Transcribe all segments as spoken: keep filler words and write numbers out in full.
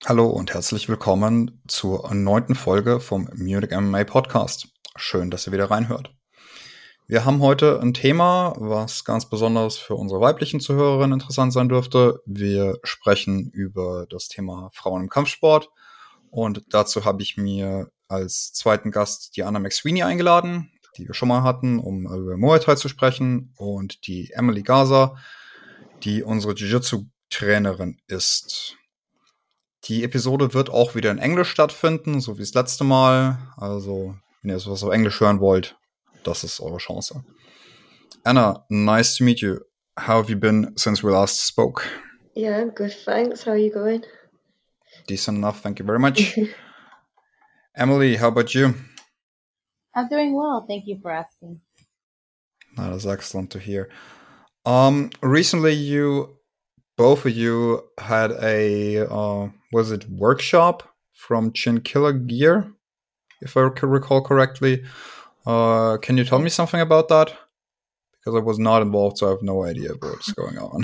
Hallo und herzlich willkommen zur neunten Folge vom Munich M M A Podcast. Schön, dass ihr wieder reinhört. Wir haben heute ein Thema, was ganz besonders für unsere weiblichen Zuhörerinnen interessant sein dürfte. Wir sprechen über das Thema Frauen im Kampfsport und dazu habe ich mir als zweiten Gast die Anna McSweeney eingeladen, die wir schon mal hatten, um über Muay Thai zu sprechen, und die Emily Gaza, die unsere Jiu-Jitsu-Trainerin ist. Die Episode wird auch wieder in Englisch stattfinden, so wie das letzte Mal. Also, wenn ihr sowas auf Englisch hören wollt, das ist eure Chance. Anna, nice to meet you. How have you been since we last spoke? Yeah, I'm good, thanks. How are you going? Decent enough, thank you very much. Emily, how about you? I'm doing well, thank you for asking. That is excellent to hear. Um, recently you, both of you had a, uh, was it workshop from Chin Killer Gear, if I can recall correctly. Uh, can you tell me something about that? Because I was not involved, so I have no idea what's going on.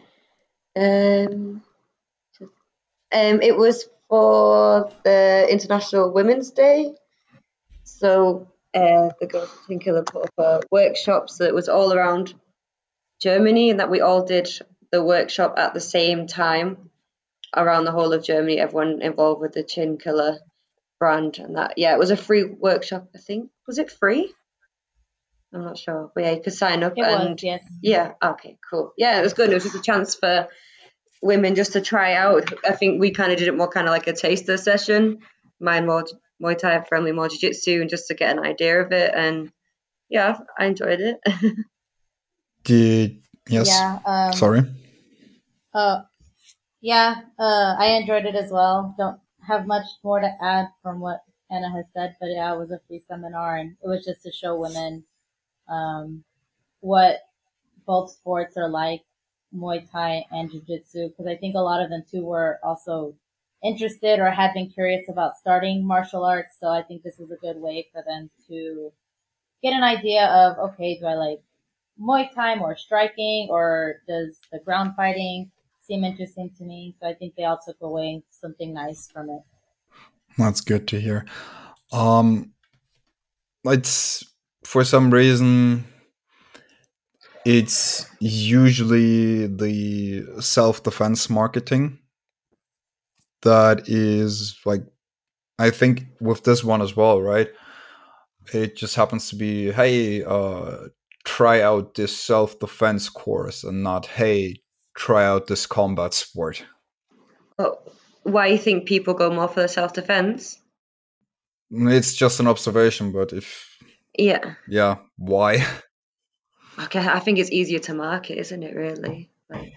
Um, um, it was for the International Women's Day. So uh, the Girls of Chin Killer put up a workshop, so it was all around Germany, and that we all did the workshop at the same time around the whole of Germany, everyone involved with the Chin Killer brand. And that, yeah, it was a free workshop, I think. Was it free? I'm not sure. But yeah, you could sign up. It and was, yes. Yeah, okay, cool. Yeah, it was good. It was just a chance for women just to try out. I think we kind of did it more kind of like a taster session. Mine more Muay Thai friendly, more Jiu-Jitsu, and just to get an idea of it. And yeah, I enjoyed it. Did yes? Yeah. Um, Sorry. Uh, yeah. Uh, I enjoyed it as well. Don't have much more to add from what Anna has said, but yeah, it was a free seminar, and it was just to show women um, what both sports are like, Muay Thai and Jiu-Jitsu, because I think a lot of them too were also interested or had been curious about starting martial arts. So I think this is a good way for them to get an idea of, okay, do I like Muay Thai or striking, or does the ground fighting seem interesting to me? So I think they all took away something nice from it. That's good to hear. Um, it's for some reason it's usually the self-defense marketing that is like, I think with this one as well, right? It just happens to be, hey, uh, try out this self-defense course, and not, hey, try out this combat sport. Oh, why you think people go more for the self-defense? It's just an observation, but if yeah, yeah, why? Okay, I think it's easier to market, isn't it? Really, like,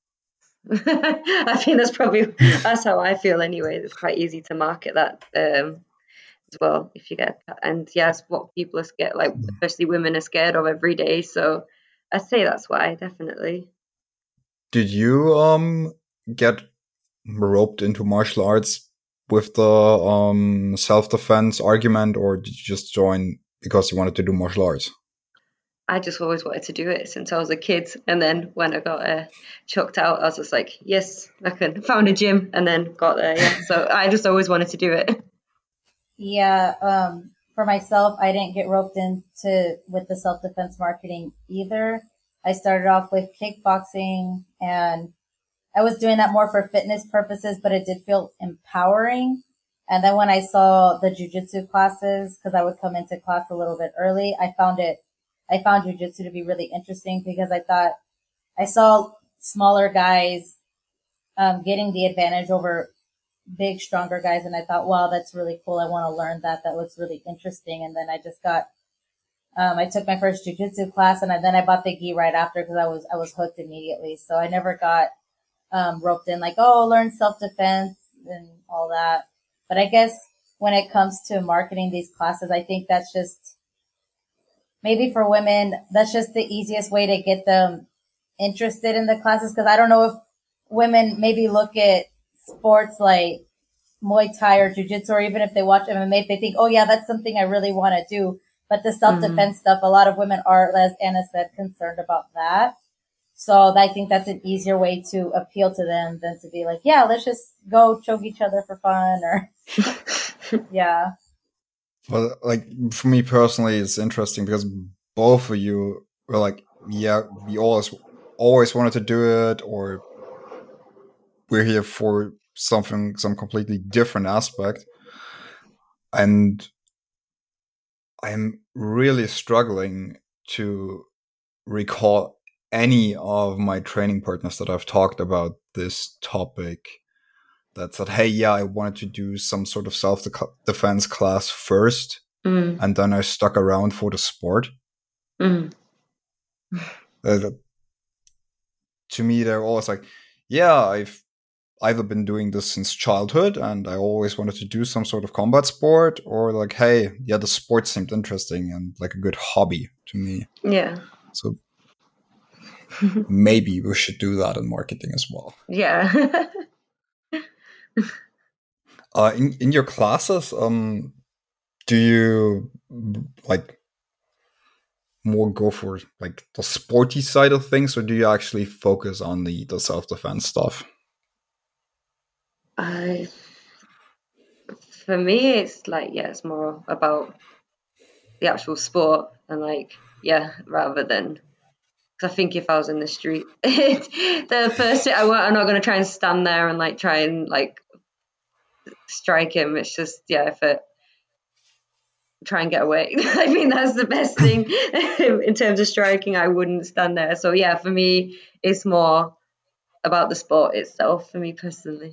I think that's probably that's how I feel anyway. It's quite easy to market that um, as well if you get, and yes, what people are scared, like especially women are scared of every day. So I'd say that's why, definitely. Did you um get roped into martial arts with the um self-defense argument, or did you just join because you wanted to do martial arts? I just always wanted to do it since I was a kid, and then when I got uh, chucked out, I was just like, yes, I can. Found a gym and then got there. Yeah, so I just always wanted to do it. Yeah, um, for myself, I didn't get roped into with the self-defense marketing either. I started off with kickboxing, and I was doing that more for fitness purposes, but it did feel empowering. And then when I saw the jiu-jitsu classes, because I would come into class a little bit early, I found it, I found jiu-jitsu to be really interesting, because I thought I saw smaller guys um, getting the advantage over big, stronger guys. And I thought, wow, that's really cool. I want to learn that. That looks really interesting. And then I just got, um, I took my first jiu-jitsu class, and I, then I bought the gi right after, because I was, I was hooked immediately. So I never got um, roped in like, oh, learn self-defense and all that. But I guess when it comes to marketing these classes, I think that's just, maybe for women, that's just the easiest way to get them interested in the classes. Because I don't know if women maybe look at sports like Muay Thai or Jiu-Jitsu, or even if they watch M M A, they think, oh yeah, that's something I really want to do. But the self-defense mm-hmm. stuff, a lot of women are, as Anna said, concerned about that. So I think that's an easier way to appeal to them than to be like, yeah, let's just go choke each other for fun or yeah. Well, like for me personally, it's interesting because both of you were like, yeah, we always always wanted to do it, or we're here for something, some completely different aspect. And I'm really struggling to recall any of my training partners that I've talked about this topic that said, hey, yeah, I wanted to do some sort of self-defense class first, mm. and then I stuck around for the sport. Mm. Uh, to me, they're always like, yeah, I've either been doing this since childhood and I always wanted to do some sort of combat sport, or like, hey, yeah, the sport seemed interesting and like a good hobby to me. Yeah. So maybe we should do that in marketing as well. Yeah. uh, in, in your classes, um, do you like more go for like the sporty side of things, or do you actually focus on the, the self-defense stuff? I, for me, it's like, yeah, it's more about the actual sport and like, yeah, rather than, because I think if I was in the street, the first thing I want, I'm not going to try and stand there and like try and like strike him. It's just, yeah, if it, try and get away. I mean, that's the best thing in terms of striking. I wouldn't stand there. So yeah, for me, it's more about the sport itself for me personally.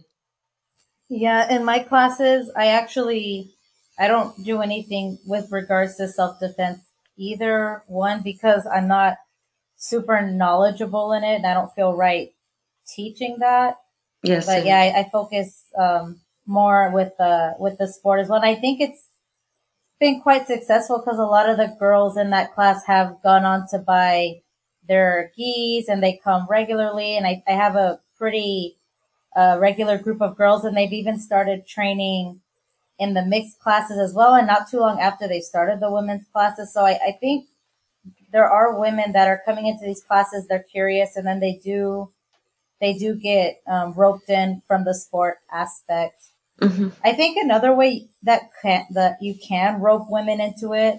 Yeah, in my classes, I actually, I don't do anything with regards to self-defense either. One, because I'm not super knowledgeable in it and I don't feel right teaching that. Yes. But yeah, I, I focus um, more with the, with the sport as well. And I think it's been quite successful because a lot of the girls in that class have gone on to buy their gis and they come regularly. And I, I have a pretty uh, regular group of girls, and they've even started training in the mixed classes as well. And not too long after they started the women's classes. So I, I think there are women that are coming into these classes. They're curious, and then they do, they do get um, roped in from the sport aspect. Mm-hmm. I think another way that can, that you can rope women into it,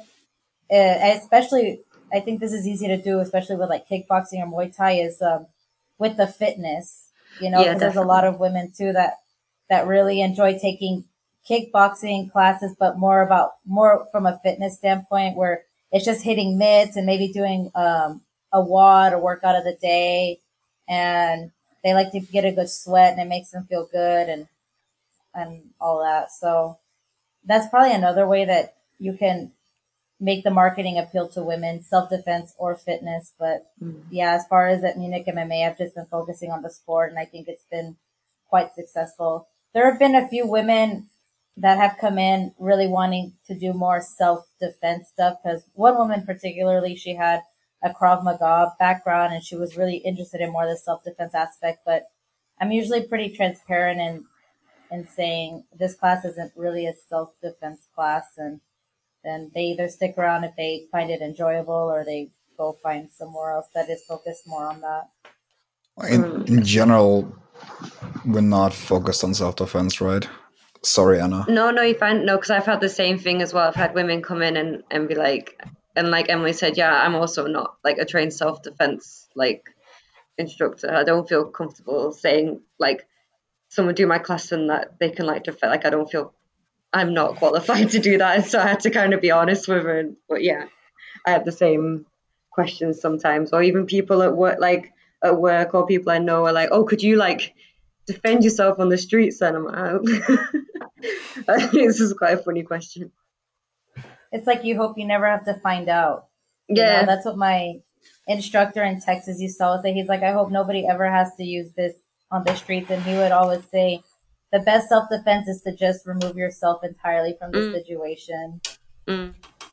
uh, especially, I think this is easy to do, especially with like kickboxing or Muay Thai, is um, with the fitness, you know, because yeah, there's a lot of women too that, that really enjoy taking kickboxing classes, but more about, more from a fitness standpoint where it's just hitting mitts and maybe doing um, a W O D, a workout of the day. And they like to get a good sweat and it makes them feel good and, and all that. So that's probably another way that you can make the marketing appeal to women, self-defense or fitness. But mm. yeah, as far as at Munich M M A, I've just been focusing on the sport and I think it's been quite successful. There have been a few women that have come in really wanting to do more self-defense stuff, because one woman particularly, she had a Krav Maga background and she was really interested in more of the self-defense aspect. But I'm usually pretty transparent in and saying this class isn't really a self-defense class, and then they either stick around if they find it enjoyable or they go find somewhere else that is focused more on that. In, in general, we're not focused on self-defense, right? Sorry, Anna. No, no, you find no, because I've had the same thing as well. I've had women come in and, and be like, and like Emily said, yeah, I'm also not like a trained self-defense like instructor. I don't feel comfortable saying like, someone do my class and that they can like defend. Like I don't feel I'm not qualified to do that, so I had to kind of be honest with her. But yeah, I have the same questions sometimes, or even people at work, like at work, or people I know are like, "Oh, could you like defend yourself on the streets?" And I'm like, I think this is quite a funny question. It's like you hope you never have to find out. You yeah, know, that's what my instructor in Texas used to always say. He's like, I hope nobody ever has to use this on the streets. And he would always say, the best self-defense is to just remove yourself entirely from the mm. situation. Mm.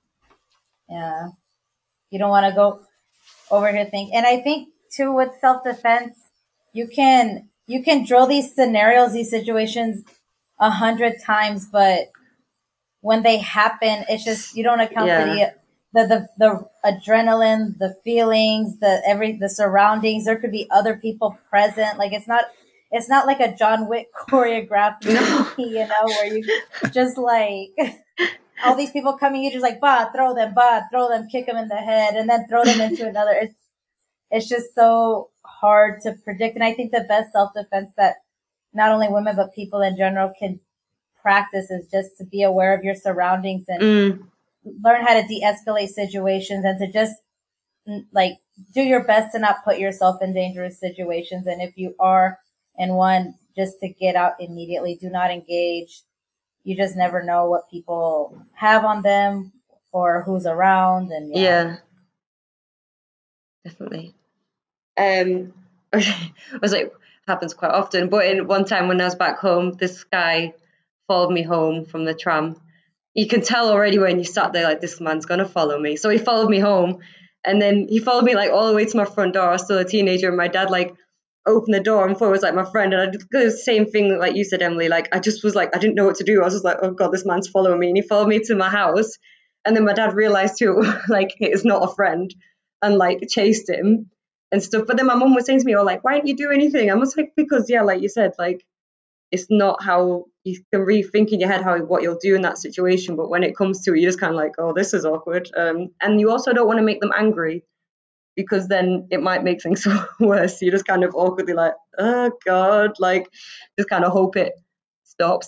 Yeah. You don't want to go over here think. And I think too with self-defense, you can, you can drill these scenarios, these situations a hundred times, but when they happen, it's just, you don't account yeah. for the, the, the, the adrenaline, the feelings, the every, the surroundings. There could be other people present. Like it's not, it's not like a John Wick choreographed movie, you know, where you just like all these people coming, you just like, bah, throw them, bah, throw them, kick them in the head, and then throw them into another. It's, it's just so hard to predict. And I think the best self-defense that not only women, but people in general can practice is just to be aware of your surroundings and Mm. learn how to de-escalate situations and to just like do your best to not put yourself in dangerous situations. And if you are in one, just to get out immediately. Do not engage. You just never know what people have on them or who's around. And yeah, Yeah, definitely. Um, I was like, happens quite often. But in one time when I was back home, this guy followed me home from the tram. You can tell already when you sat there, like, this man's gonna follow me. So he followed me home, and then he followed me like all the way to my front door. I was still a teenager, and my dad like opened the door and thought it was like my friend. And I did the same thing like you said, Emily. Like I just was like, I didn't know what to do. I was just like, oh god, this man's following me, and he followed me to my house. And then my dad realized too, like it's not a friend, and like chased him and stuff. But then my mum was saying to me, oh, like, why didn't you do anything? I was like, because yeah, like you said, like it's not how you can rethink in your head how what you'll do in that situation. But when it comes to it, you're just kind of like, oh, this is awkward. Um, and you also don't want to make them angry, because then it might make things worse. So you're just kind of awkwardly like, oh god, like just kind of hope it stops.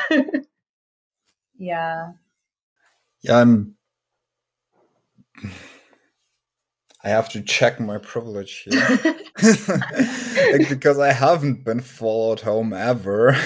yeah, Yeah, I'm. I have to check my privilege here. Like, because I haven't been followed home ever.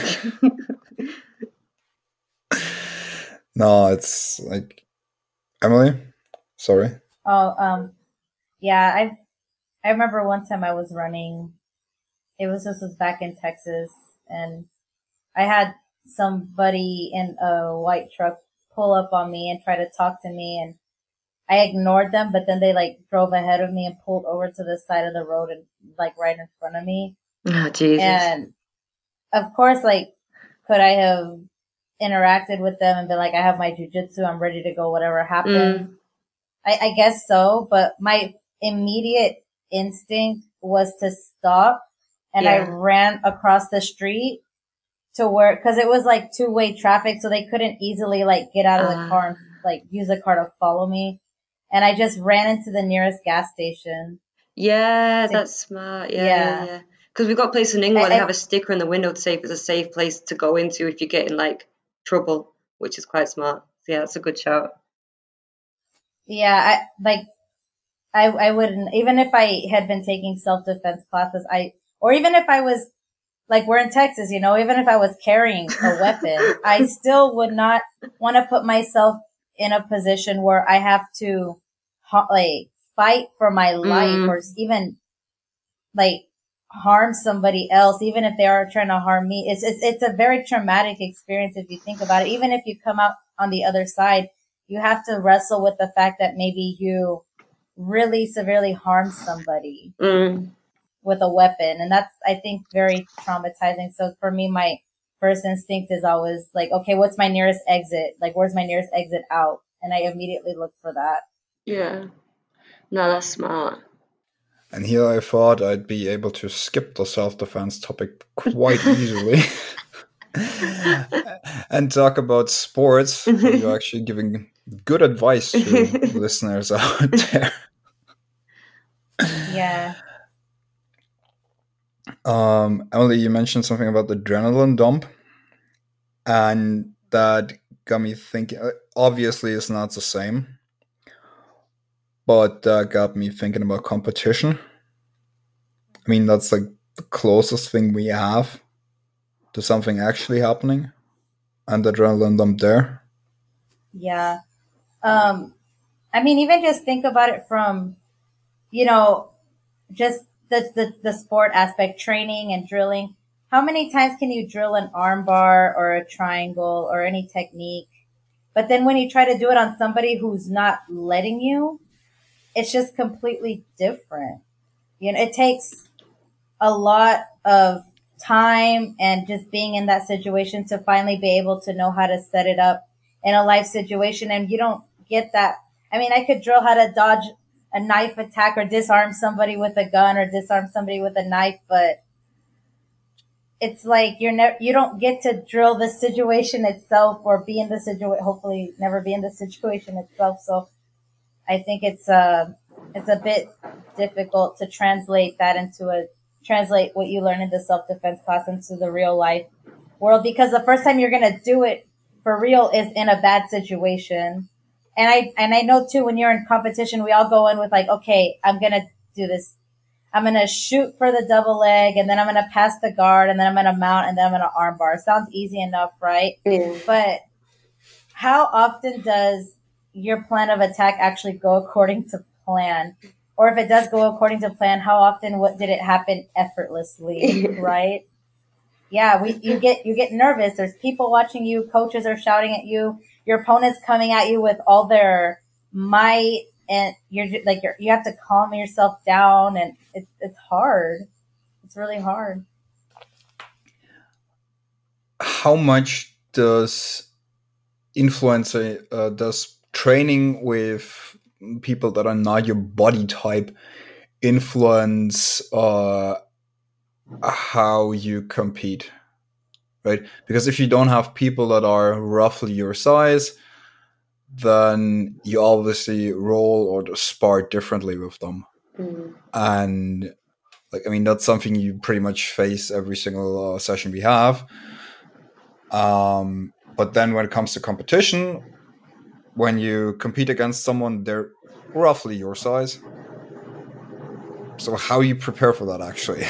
No, it's like Emily. Sorry. Oh, um, yeah, I've, I remember one time I was running, it was, this was back in Texas, and I had somebody in a white truck pull up on me and try to talk to me, and I ignored them, but then they like drove ahead of me and pulled over to the side of the road and like right in front of me. Oh, Jesus. And of course, like, could I have interacted with them and been like, I have my jujitsu, I'm ready to go, whatever happens? Mm. I, I guess so, but my immediate instinct was to stop, and I Yeah. ran across the street to where, cause it was like two way traffic, so they couldn't easily like get out of the Ah. car and like use the car to follow me. And I just ran into the nearest gas station. Yeah, To- that's smart. Yeah, Yeah. yeah, yeah. Because we've got places in England where I- they I- have a sticker in the window to say if it's a safe place to go into if you get in like trouble, which is quite smart. So yeah, that's a good shout. Yeah, I like, I, I wouldn't, even if I had been taking self-defense classes, I, or even if I was, like, we're in Texas, you know, even if I was carrying a weapon, I still would not want to put myself in a position where I have to, ha- like, fight for my life Mm. or even, like, harm somebody else, even if they are trying to harm me. It's, it's, it's a very traumatic experience if you think about it. Even if you come out on the other side, you have to wrestle with the fact that maybe you really severely harm somebody Mm. with a weapon. And that's, I think, very traumatizing. So for me, my first instinct is always like, okay, what's my nearest exit? Like, where's my nearest exit out? And I immediately look for that. Yeah. No, that's smart. And here I thought I'd be able to skip the self-defense topic quite easily and talk about sports. You're actually giving good advice to listeners out there. Yeah. Um, Emily, you mentioned something about the adrenaline dump, and that got me thinking. Obviously, it's not the same, but that got me thinking about competition. I mean, that's like the closest thing we have to something actually happening, and the adrenaline dump there. Yeah. Um, I mean, even just think about it from, you know, just the, the, the sport aspect, training and drilling. How many times can you drill an arm bar or a triangle or any technique? But then when you try to do it on somebody who's not letting you, it's just completely different. You know, it takes a lot of time and just being in that situation to finally be able to know how to set it up in a life situation. And you don't get that I mean, I could drill how to dodge a knife attack or disarm somebody with a gun or disarm somebody with a knife, but it's like you're never, you don't get to drill the situation itself or be in the situation, hopefully never be in the situation itself. So I think it's uh it's a bit difficult to translate that into a translate what you learn in the self defense class into the real life world, because the first time you're gonna do it for real is in a bad situation. And I and I know too, when you're in competition, we all go in with like, okay, I'm gonna do this. I'm gonna shoot for the double leg, and then I'm gonna pass the guard, and then I'm gonna mount, and then I'm gonna arm bar. Sounds easy enough, right? Yeah. But how often does your plan of attack actually go according to plan? Or if it does go according to plan, how often what did it happen effortlessly, right? Yeah, we you get you get nervous. There's people watching you, coaches are shouting at you, your opponent's coming at you with all their might, and you're like you're, you have to calm yourself down, and it's it's hard. It's really hard. How much does influencer uh, does training with people that are not your body type influence uh, how you compete, right? Because if you don't have people that are roughly your size, then you obviously roll or spar differently with them. Mm. And like, I mean, that's something you pretty much face every single uh, session we have. Um, but then when it comes to competition, when you compete against someone, they're roughly your size. So how you prepare for that, actually?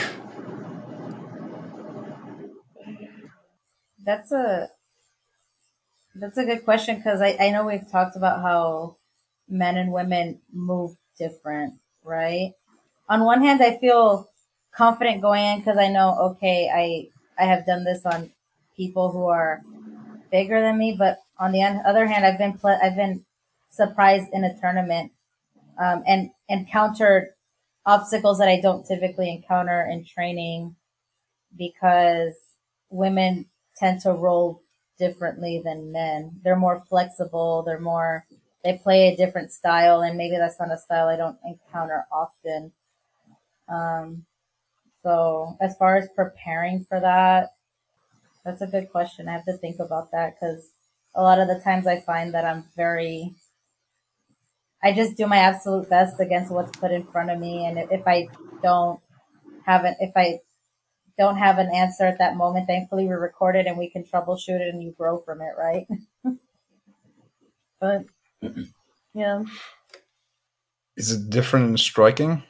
That's a that's a good question, because I, I know we've talked about how men and women move different, right? On one hand, I feel confident going in because I know, okay, I I have done this on people who are bigger than me, but on the other hand, I've been pl- I've been surprised in a tournament um, and encountered obstacles that I don't typically encounter in training, because women tend to roll differently than men. They're more flexible. They're more, they play a different style, and maybe that's not a style I don't encounter often. Um, so as far as preparing for that, that's a good question. I have to think about that, because a lot of the times I find that I'm very, I just do my absolute best against what's put in front of me. And if I don't have it, if I don't have an answer at that moment, thankfully we record it and we can troubleshoot it and you grow from it, right? But yeah. Is it different in striking?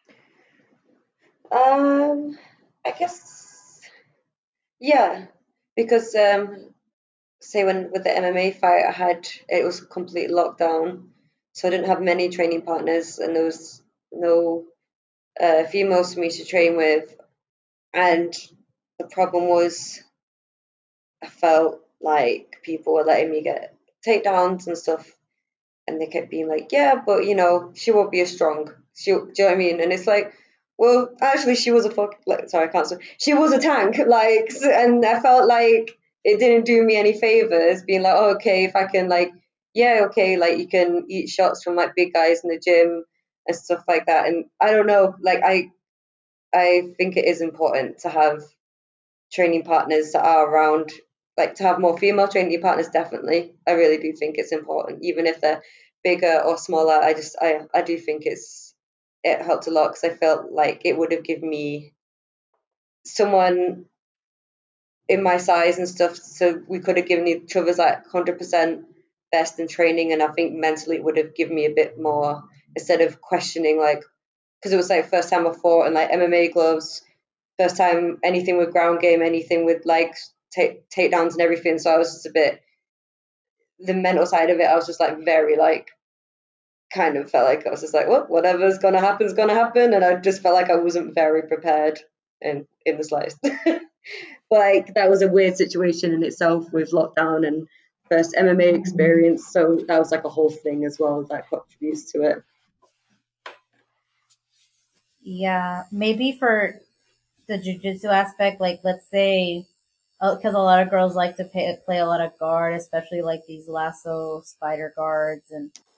Um, I guess, yeah, because um, say when with the M M A fight I had, it was complete lockdown, so I didn't have many training partners, and there was no uh, females for me to train with, and the problem was I felt like people were letting me get takedowns and stuff, and they kept being like, yeah, but you know, she won't be as strong. She, do you know what I mean? And it's like, well, actually, she was a fuck. Like, sorry, I can't. Say, she was a tank. Like, and I felt like it didn't do me any favors. Being like, oh, okay, if I can, like, yeah, okay, like you can eat shots from like big guys in the gym and stuff like that. And I don't know, like I, I think it is important to have training partners that are around, like to have more female training partners. Definitely, I really do think it's important, even if they're bigger or smaller. I just I I do think it's it helped a lot, because I felt like it would have given me someone in my size and stuff, so we could have given each other's like one hundred percent best in training. And I think mentally it would have given me a bit more, instead of questioning, like, because it was like first time I fought in like M M A gloves, first time anything with ground game, anything with like take takedowns and everything. So I was just a bit, the mental side of it, I was just like very like, kind of felt like I was just like, well, whatever's gonna happen is gonna happen, and I just felt like I wasn't very prepared in in the slightest. But like that was a weird situation in itself with lockdown and first M M A experience, so that was like a whole thing as well that contributes to it. Yeah, maybe for the jujitsu aspect, like let's say, because a lot of girls like to pay, play a lot of guard, especially like these lasso spider guards and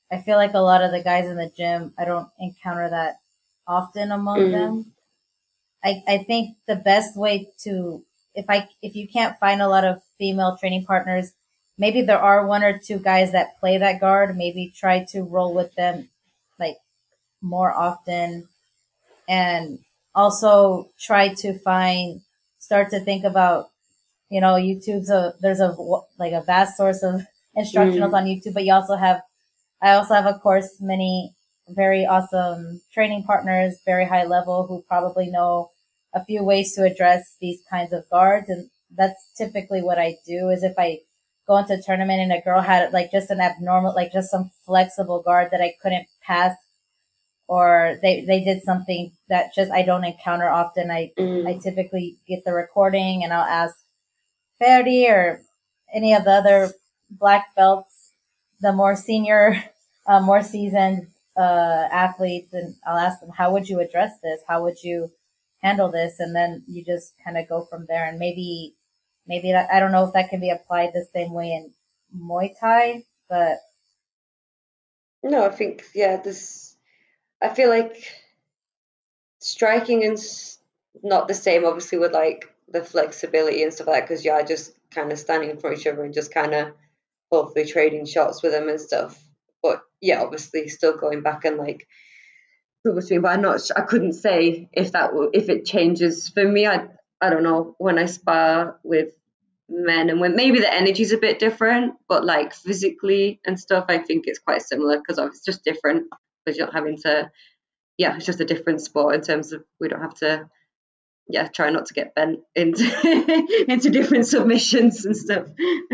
I feel like a lot of the guys in the gym, I don't encounter that often among Mm. them. I, I think the best way to, if I, if you can't find a lot of female training partners, maybe there are one or two guys that play that guard, maybe try to roll with them like more often, and also try to find, start to think about, you know, YouTube's a, there's a, like a vast source of instructionals Mm. on YouTube, but you also have, I also have, of course, many very awesome training partners, very high level, who probably know a few ways to address these kinds of guards. And that's typically what I do, is if I go into a tournament and a girl had like just an abnormal, like just some flexible guard that I couldn't pass, or they, they did something that just I don't encounter often, I, Mm. I typically get the recording and I'll ask Ferdi or any of the other black belts, the more senior, uh, more seasoned uh, athletes, and I'll ask them, how would you address this? How would you handle this? And then you just kind of go from there. And maybe, maybe that, I don't know if that can be applied the same way in Muay Thai, but No, I think, yeah, this, I feel like striking is not the same, obviously, with like the flexibility and stuff like that, because you're just kind of standing in front of each other and just kind of hopefully trading shots with them and stuff. But yeah, obviously, still going back and like between. But I'm not. I couldn't say if that will, if it changes for me. I I don't know when I spar with men and women. Maybe the energy's a bit different, but like physically and stuff, I think it's quite similar because it's just different because you're not having to. Yeah, it's just a different sport in terms of we don't have to. Yeah, try not to get bent into into different submissions and stuff.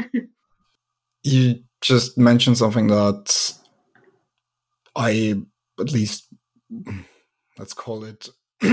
You just mentioned something that I, at least, let's call it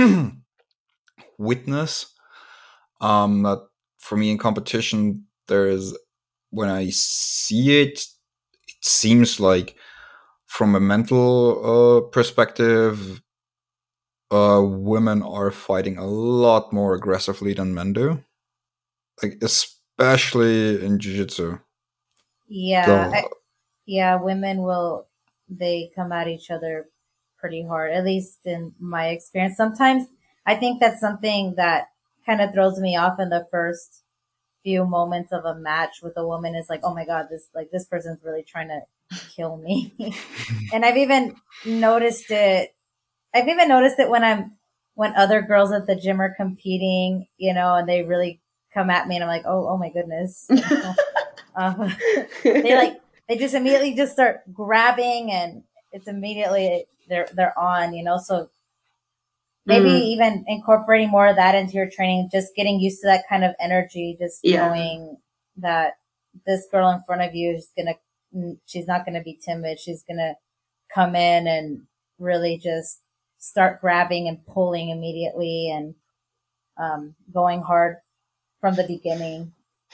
witness. Um, that for me in competition, there is, when I see it, it seems like from a mental uh, perspective, uh, women are fighting a lot more aggressively than men do. Like, especially in jiu-jitsu. yeah, I, yeah, women will, they come at each other pretty hard, at least in my experience. Sometimes I think that's something that kind of throws me off in the first few moments of a match with a woman, is like, oh my God, this, like, this person's really trying to kill me. And I've even noticed it. I've even noticed it when I'm, when other girls at the gym are competing, you know, and they really come at me and I'm like, oh, oh my goodness. uh, they like, they just immediately just start grabbing and it's immediately they're, they're on, you know, so maybe Mm. even incorporating more of that into your training, just getting used to that kind of energy, just Yeah. knowing that this girl in front of you is going to, she's not going to be timid. She's going to come in and really just start grabbing and pulling immediately and um, going hard from the beginning.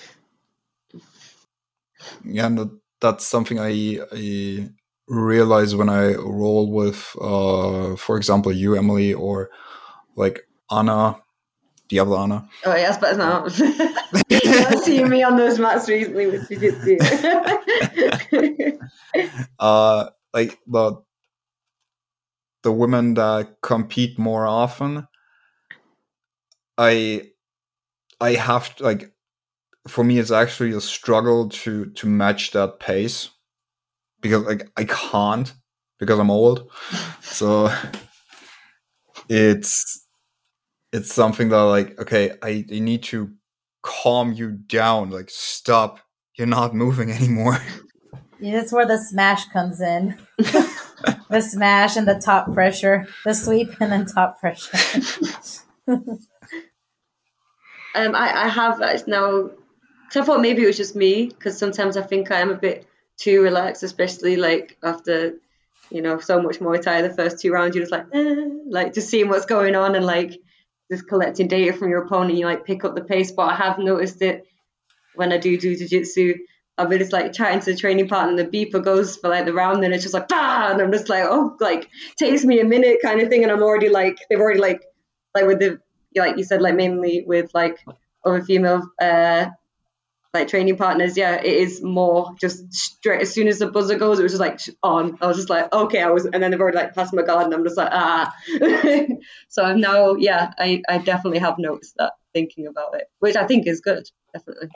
Yeah, and that, that's something I, I realize when I roll with, uh, for example, you, Emily, or like Anna, the other Anna. Oh yes, but no. You've seen me on those mats recently with jiu-jitsu. uh, like the the women that compete more often, I I have to, like, for me it's actually a struggle to to match that pace, because like I can't, because I'm old. So it's it's something that, like, okay, I, I need to calm you down, like, stop, you're not moving anymore. Yeah, that's where the smash comes in. The smash and the top pressure, the sweep and then top pressure. um, I, I have now, because I thought maybe it was just me, because sometimes I think I am a bit too relaxed, especially like after, you know, so much Muay Thai the first two rounds, you're just like, eh, like just seeing what's going on and like just collecting data from your opponent, you like pick up the pace. But I have noticed it when I do do jiu-jitsu, I'll be just like chatting to the training partner and the beeper goes for like the round and it's just like, bah! And I'm just like, oh, like takes me a minute kind of thing. And I'm already like, they've already like, like with the, like you said, like mainly with like other female uh, like training partners, yeah, it is more just straight as soon as the buzzer goes, it was just like on. I was just like, okay, I was, and then they've already like passed my guard, and I'm just like, ah. So I'm now, yeah, I, I definitely have noticed that thinking about it, which I think is good, definitely.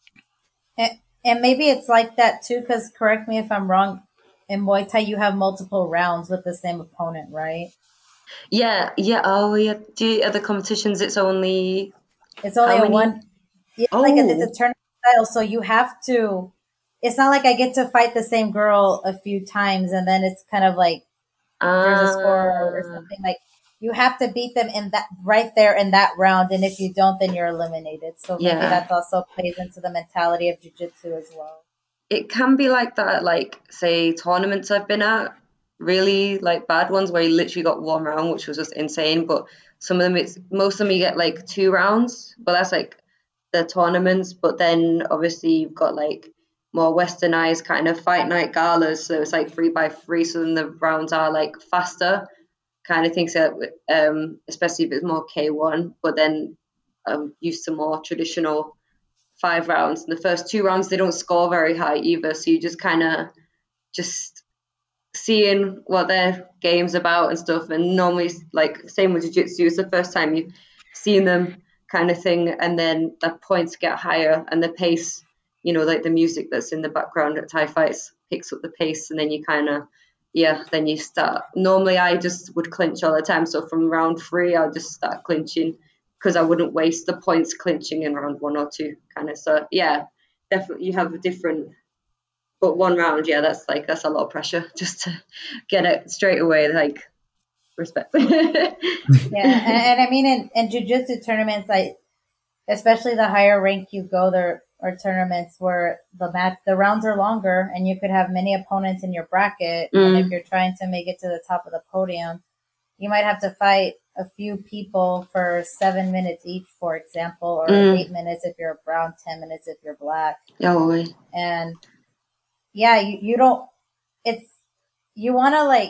And, and maybe it's like that too, because correct me if I'm wrong, in Muay Thai you have multiple rounds with the same opponent, right? Yeah, yeah. Oh, yeah. Do you, other competitions? It's only It's only how a many? one. Yeah, Oh, like it's a tournament style, so you have to. It's not like I get to fight the same girl a few times and then it's kind of like there's a score or uh, something. Like you have to beat them in that right there in that round, and if you don't, then you're eliminated. So maybe yeah. that's also plays into the mentality of jiu-jitsu as well. It can be like that. At, like, say, tournaments I've been at, really like bad ones where you literally got one round, which was just insane. But some of them, it's most of them you get like two rounds. But that's like the tournaments. But then obviously you've got like more westernized kind of fight night galas, so it's like three by three. So then the rounds are like faster, kind of thing. So um, especially if it's more K one. But then I'm used to more traditional five rounds. And the first two rounds they don't score very high either, so you just kind of just seeing what their game's about and stuff. And normally, like same with jiu-jitsu, it's the first time you've seen them, kind of thing, and then the points get higher and the pace, you know, like the music that's in the background at Thai fights picks up the pace, and then you kind of, yeah, then you start. Normally I just would clinch all the time, so from round three I'll just start clinching because I wouldn't waste the points clinching in round one or two, kind of. So yeah, definitely you have a different, but one round, yeah, that's like that's a lot of pressure just to get it straight away. Like respect. Yeah, and, and I mean, in, in jiu-jitsu tournaments, like especially the higher rank you go, there are tournaments where the match, the rounds are longer, and you could have many opponents in your bracket. And if Mm, you're trying to make it to the top of the podium, you might have to fight a few people for seven minutes each, for example, or mm. eight minutes if you're brown, ten minutes if you're black. Oh, wait. And yeah, you, you don't, it's, you want to like,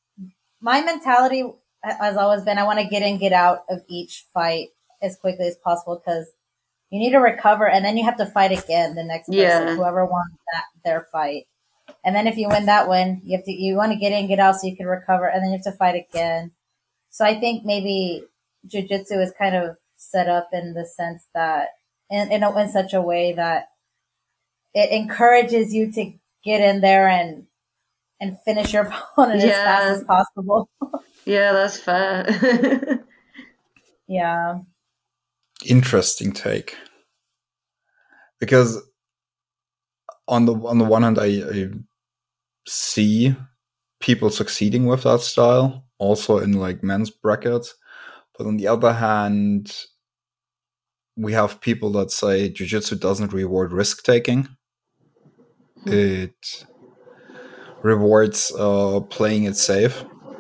my mentality has always been, I want to get in, get out of each fight as quickly as possible because you need to recover and then you have to fight again the next person, Yeah. whoever won that, their fight. And then if you win that one, you have to, you want to get in, get out so you can recover and then you have to fight again. So I think maybe jiu-jitsu is kind of set up in the sense that in, in, a, in such a way that it encourages you to get in there and and finish your opponent as fast Yeah. as possible. Yeah, that's fair. Yeah. Interesting take. Because on the on the one hand, I, I see people succeeding with that style, also in like men's brackets. But on the other hand, we have people that say jiu-jitsu doesn't reward risk taking. It rewards uh, playing it safe.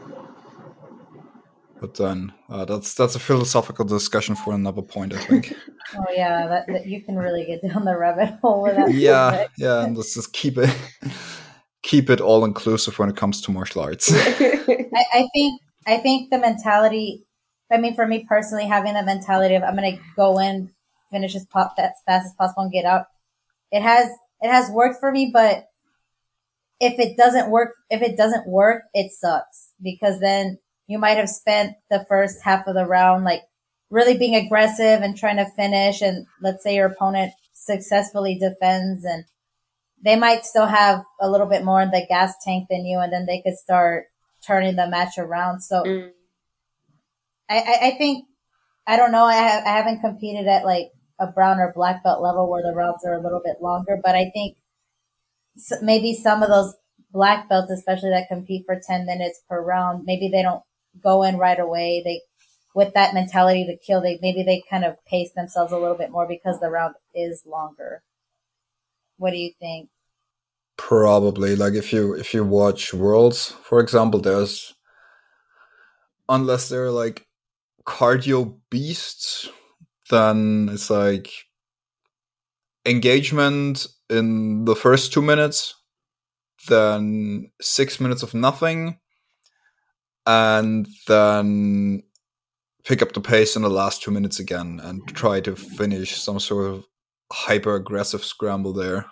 But then uh, that's that's a philosophical discussion for another point, I think. Oh yeah, that, that you can really get down the rabbit hole with that. Yeah, subject. yeah, and let's just keep it keep it all inclusive when it comes to martial arts. I, I think I think the mentality. I mean, for me personally, having that mentality of I'm going to go in, finish as pop as fast as possible, and get out. It has it has worked for me, but if it doesn't work, if it doesn't work, it sucks because then you might have spent the first half of the round like really being aggressive and trying to finish, and let's say your opponent successfully defends, and they might still have a little bit more in the gas tank than you, and then they could start turning the match around. So Mm. I, I, I think I don't know. I, have, I haven't competed at like a brown or black belt level where the rounds are a little bit longer, but I think s- maybe some of those black belts, especially that compete for ten minutes per round, maybe they don't go in right away. They, with that mentality to kill, they, maybe they kind of pace themselves a little bit more because the round is longer. What do you think? Probably, like if you if you watch Worlds, for example, there's unless they're like cardio beasts, then it's like engagement in the first two minutes, then six minutes of nothing, and then pick up the pace in the last two minutes again and try to finish some sort of hyper aggressive scramble there.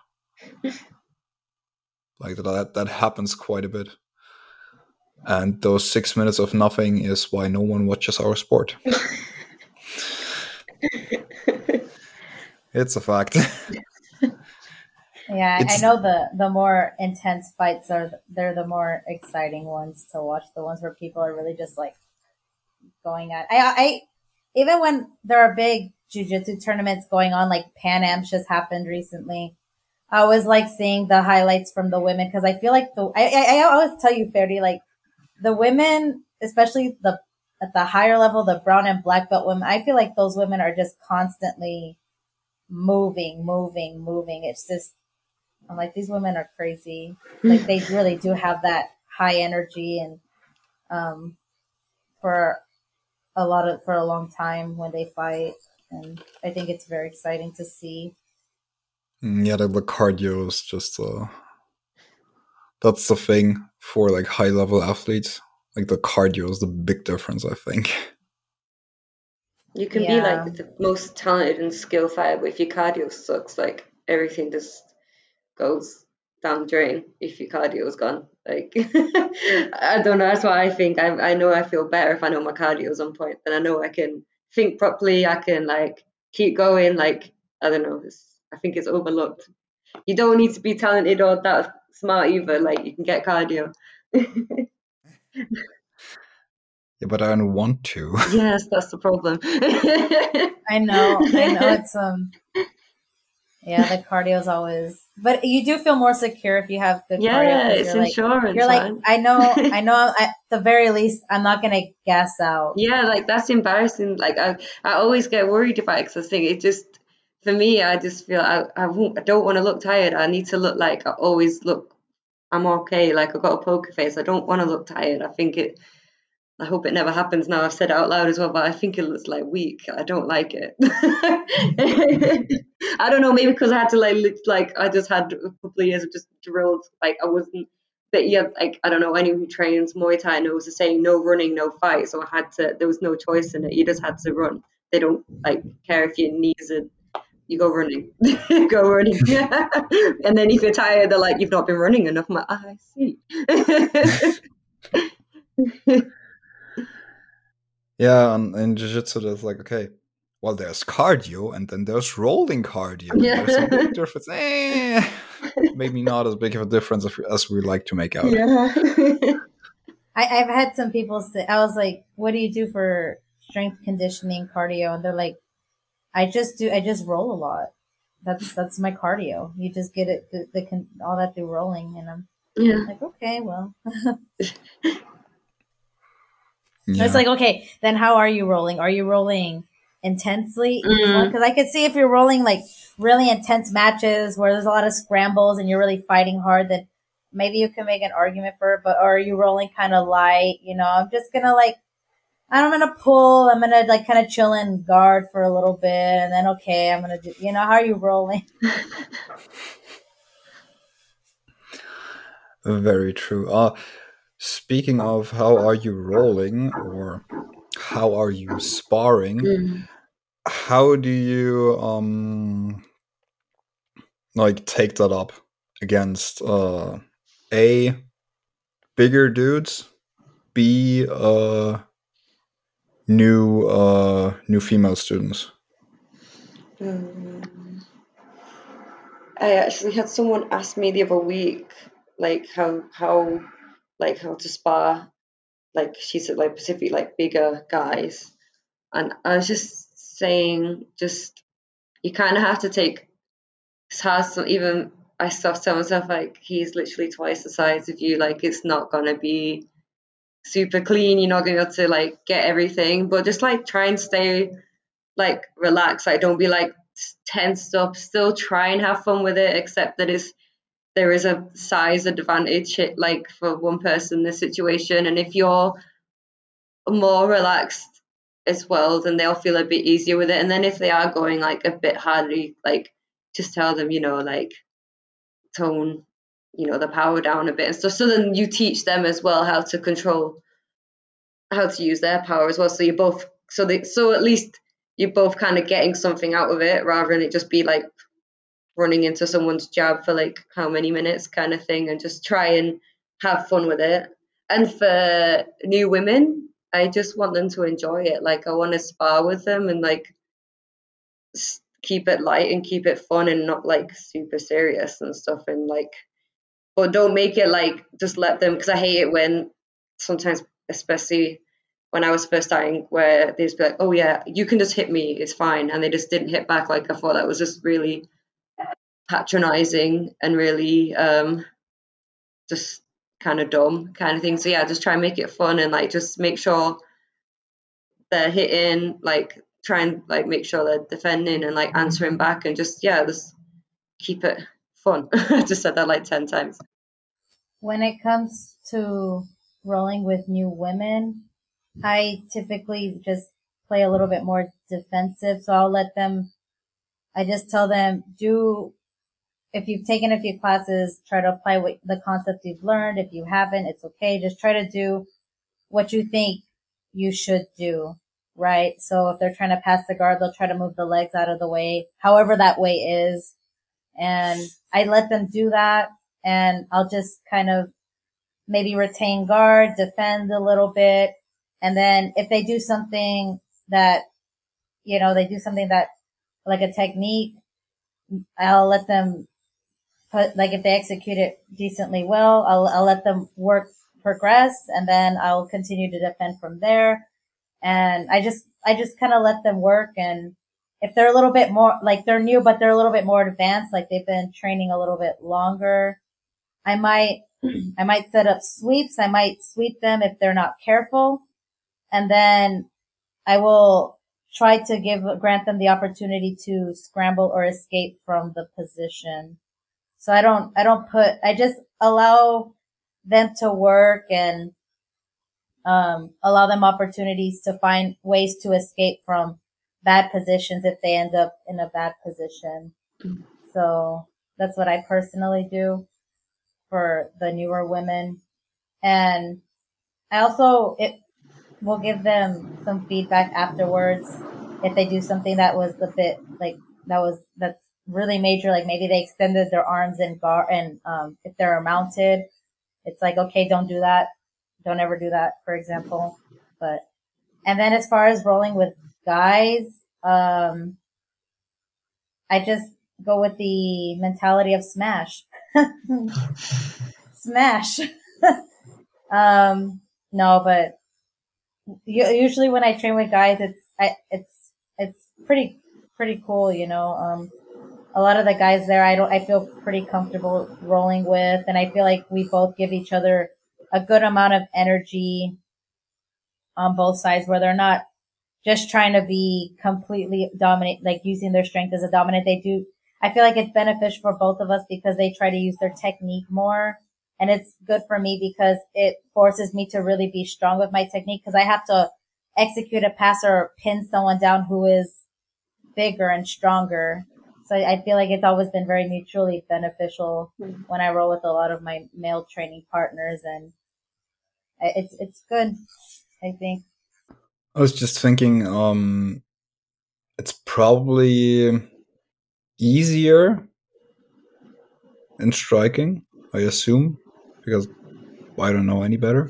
Like that, that happens quite a bit. And those six minutes of nothing is why no one watches our sport. It's a fact. Yeah, It's- I know the the more intense fights are they're the more exciting ones to watch. The ones where people are really just like going at. I I even when there are big jiu-jitsu tournaments going on, like Pan Am's just happened recently. I always like seeing the highlights from the women because I feel like the I, I I always tell you, Ferdy, like the women, especially the at the higher level, the brown and black belt women. I feel like those women are just constantly moving, moving, moving. It's just I'm like, these women are crazy. Like they really do have that high energy and um for a lot of for a long time when they fight, and I think it's very exciting to see. Yeah, the, the cardio is just uh that's the thing for like high level athletes. Like the cardio is the big difference, I think. You can be Yeah. like the most talented and skill fighter, but if your cardio sucks, like everything just goes down the drain if your cardio's gone. Like I don't know. That's why I think I I know I feel better if I know my cardio's on point. Then I know I can think properly. I can like keep going. Like I don't know. It's, I think it's overlooked. You don't need to be talented or that smart either. Like you can get cardio. Yeah, but I don't want to. Yes, that's the problem. I know, I know it's um yeah, the cardio is always, but you do feel more secure if you have good cardio Yeah, because it's you're like insurance, you're like man. I know I know at the very least I'm not gonna gas out. Yeah, like that's embarrassing. Like I, I always get worried about it 'cause I think it just, for me, I just feel I, I, won't, I don't want to look tired. I need to look like I always look, I'm okay. Like I've got a poker face. I don't want to look tired. I think it, I hope it never happens now. I've said it out loud as well, but I think it looks like weak. I don't like it. I don't know, maybe because I had to like, look, like I just had a couple of years of just drilled. Like I wasn't, but yeah, like I don't know, anyone who trains Muay Thai knows the saying, no running, no fight. So I had to, there was no choice in it. You just had to run. They don't like care if your knees are, you go running, go running. And then if you're tired, they're like, you've not been running enough. I'm like, ah, I see. Yeah, and in jiu-jitsu there's like, okay, well there's cardio and then there's rolling cardio. And Yeah. there's a big difference. Eh, maybe not as big of a difference as we, as we like to make out. Yeah. I, I've had some people say, I was like, what do you do for strength conditioning cardio? And they're like, I just do, I just roll a lot. That's, that's my cardio. You just get it, the, the all that through rolling. And I'm Yeah. like, okay, well, Yeah. it's like, okay, then how are you rolling? Are you rolling intensely each Mm. one? Because I could see if you're rolling like really intense matches where there's a lot of scrambles and you're really fighting hard, then maybe you can make an argument for it. But or are you rolling kind of light? You know, I'm just gonna like, I'm gonna pull. I'm gonna like kind of chill and guard for a little bit, and then okay, I'm gonna do. You know, how are you rolling? Very true. Uh, speaking of how are you rolling or how are you sparring, Mm. how do you um like take that up against uh A, bigger dudes, B, uh new uh new female students? Mm. I actually had someone ask me the other week, like how how like how to spar, like she said, like specifically like bigger guys, and I was just saying, just you kind of have to take. It's hard. So even I start telling myself like he's literally twice the size of you. Like it's not gonna be super clean. You're not gonna be able to like get everything, but just like try and stay like relaxed. Like don't be like tensed up. Still try and have fun with it. Except that it's there is a size advantage, like for one person in this situation, and if you're more relaxed as well, then they'll feel a bit easier with it. And then if they are going like a bit harder, like just tell them, you know, like tone, you know, the power down a bit and stuff. So then you teach them as well how to control, how to use their power as well. So you both, so they, so at least you're both kind of getting something out of it rather than it just be like running into someone's jab for like how many minutes kind of thing, and just try and have fun with it. And for new women, I just want them to enjoy it. Like, I want to spar with them and like keep it light and keep it fun and not like super serious and stuff. And like, but don't make it like, just let them, because I hate it when sometimes, especially when I was first starting, where they'd be like, oh yeah, you can just hit me, it's fine. And they just didn't hit back. Like, I thought that was just really patronizing and really um, just kind of dumb kind of thing. So yeah, just try and make it fun and like just make sure they're hitting, like try and like make sure they're defending and like answering back, and just yeah, just keep it fun. I just said that like ten times. When it comes to rolling with new women, I typically just play a little bit more defensive. So I'll let them, I just tell them, do, if you've taken a few classes, try to apply what the concepts you've learned. If you haven't, it's okay. Just try to do what you think you should do, right? So if they're trying to pass the guard, they'll try to move the legs out of the way, however that way is. And I let them do that, and I'll just kind of maybe retain guard, defend a little bit. And then if they do something that, you know, they do something that like a technique, I'll let them put, like if they execute it decently well, I'll, I'll let them work, progress, and then I'll continue to defend from there. And I just, I just kind of let them work. And if they're a little bit more, like they're new, but they're a little bit more advanced, like they've been training a little bit longer, I might, I might set up sweeps. I might sweep them if they're not careful. And then I will try to give, grant them the opportunity to scramble or escape from the position. So I don't, I don't put, I just allow them to work and, um, allow them opportunities to find ways to escape from bad positions if they end up in a bad position. So that's what I personally do for the newer women. And I also, it will give them some feedback afterwards if they do something that was a bit like, that was, that's really major. Like maybe they extended their arms and guard, and, um, if they're mounted, it's like, okay, don't do that. Don't ever do that, for example. But, and then as far as rolling with guys, um, I just go with the mentality of smash. Smash. um, no, but usually when I train with guys, it's, I, it's, it's pretty, pretty cool, you know. Um, a lot of the guys there, I don't, I feel pretty comfortable rolling with, and I feel like we both give each other a good amount of energy on both sides, where they're not just trying to be completely dominant, like using their strength as a dominant. They do, I feel like it's beneficial for both of us because they try to use their technique more. And it's good for me because it forces me to really be strong with my technique, because I have to execute a pass or pin someone down who is bigger and stronger. So I feel like it's always been very mutually beneficial when I roll with a lot of my male training partners, and it's, it's good, I think. I was just thinking, um, it's probably easier in striking, I assume, because I don't know any better.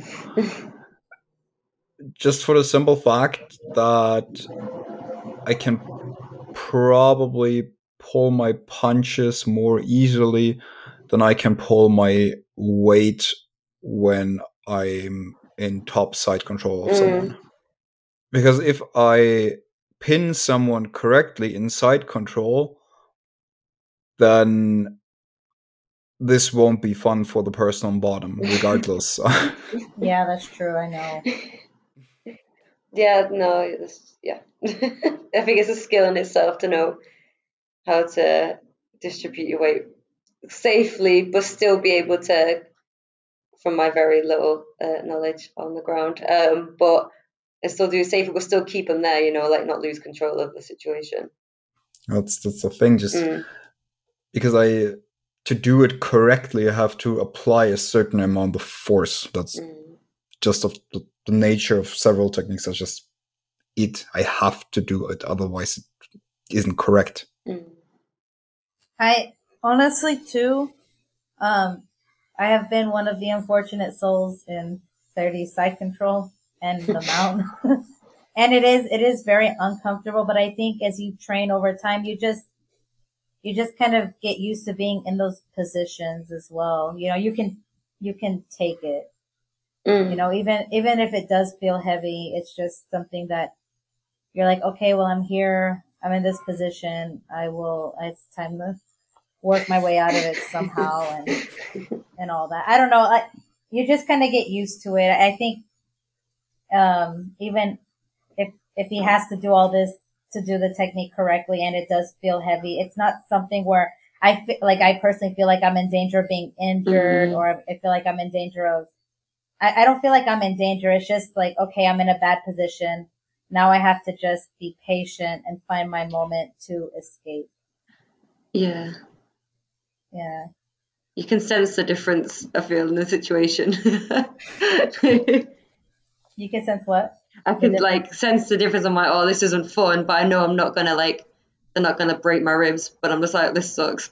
Just for the simple fact that I can probably pull my punches more easily than I can pull my weight when I'm in top side control of mm. someone. Because if I pin someone correctly in side control, then this won't be fun for the person on bottom, regardless. Yeah, that's true. I know. Yeah, no, it's, yeah. I think it's a skill in itself to know how to distribute your weight safely, but still be able to, from my very little uh, knowledge on the ground, um, but and still do it safely, but still keep them there, you know, like not lose control of the situation. That's that's the thing, just mm. because I, to do it correctly, I have to apply a certain amount of force. That's mm. just of the, the nature of several techniques. That's just it. I have to do it. Otherwise it isn't correct. Mm. I honestly too, um, I have been one of the unfortunate souls in thirty side control and the mount. And it is, it is very uncomfortable, but I think as you train over time, you just, you just kind of get used to being in those positions as well. You know, you can, you can take it, Mm. you know, even, even if it does feel heavy, it's just something that you're like, okay, well, I'm here. I'm in this position. I will, it's time to work my way out of it somehow and, and all that. I don't know. I, you just kind of get used to it. I think, um, even if, if he has to do all this to do the technique correctly and it does feel heavy, it's not something where I feel like I personally feel like I'm in danger of being injured Mhm. or I feel like I'm in danger of, I, I don't feel like I'm in danger. It's just like, okay, I'm in a bad position. Now I have to just be patient and find my moment to escape. Yeah. Yeah. You can sense the difference, I feel, in the situation. You can sense what? I The can difference? like sense the difference. I'm like, oh, this isn't fun, but I know I'm not gonna like, they're not gonna break my ribs. But I'm just like, this sucks.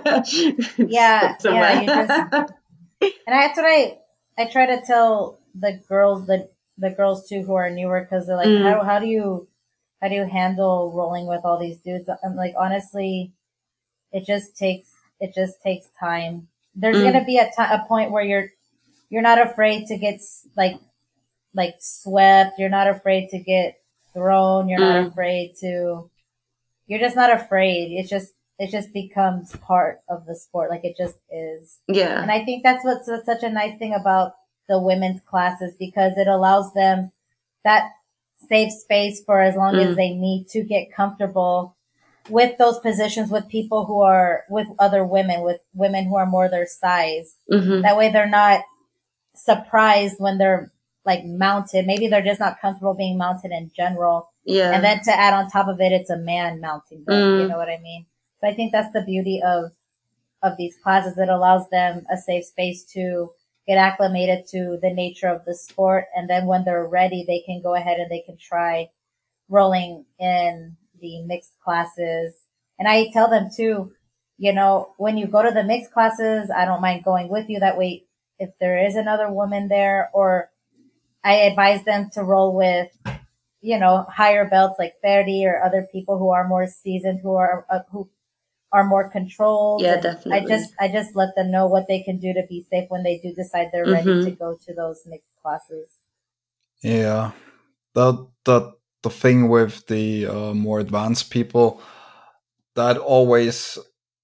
Yeah, Stuck somewhere. yeah, you just, and that's what I, I try to tell the girls, the, the girls too who are newer, cause they're like, Mm. how, how do you, how do you handle rolling with all these dudes? I'm like, honestly, it just takes, it just takes time. There's Mm. gonna be a ti- a point where you're, you're not afraid to get s- like, like swept. You're not afraid to get thrown. You're not Mm. afraid to, you're just not afraid. It's just, it just becomes part of the sport. Like it just is. Yeah. And I think that's what's such a nice thing about the women's classes because it allows them that safe space for as long Mm. as they need to get comfortable with those positions with people who are with other women, with women who are more their size. Mhm. That way they're not surprised when they're like mounted. Maybe they're just not comfortable being mounted in general. Yeah. And then to add on top of it, it's a man mounting them. Mm. You know what I mean? So I think that's the beauty of, of these classes. It allows them a safe space to get acclimated to the nature of the sport. And then when they're ready, they can go ahead and they can try rolling in the mixed classes. And I tell them too, you know, when you go to the mixed classes, I don't mind going with you. That way, if there is another woman there, or I advise them to roll with, you know, higher belts like thirty or other people who are more seasoned, who are, uh, who are more controlled. Yeah, And definitely. I just, I just let them know what they can do to be safe when they do decide they're ready Mhm. to go to those mixed classes. Yeah, that that the thing with the uh, more advanced people, that always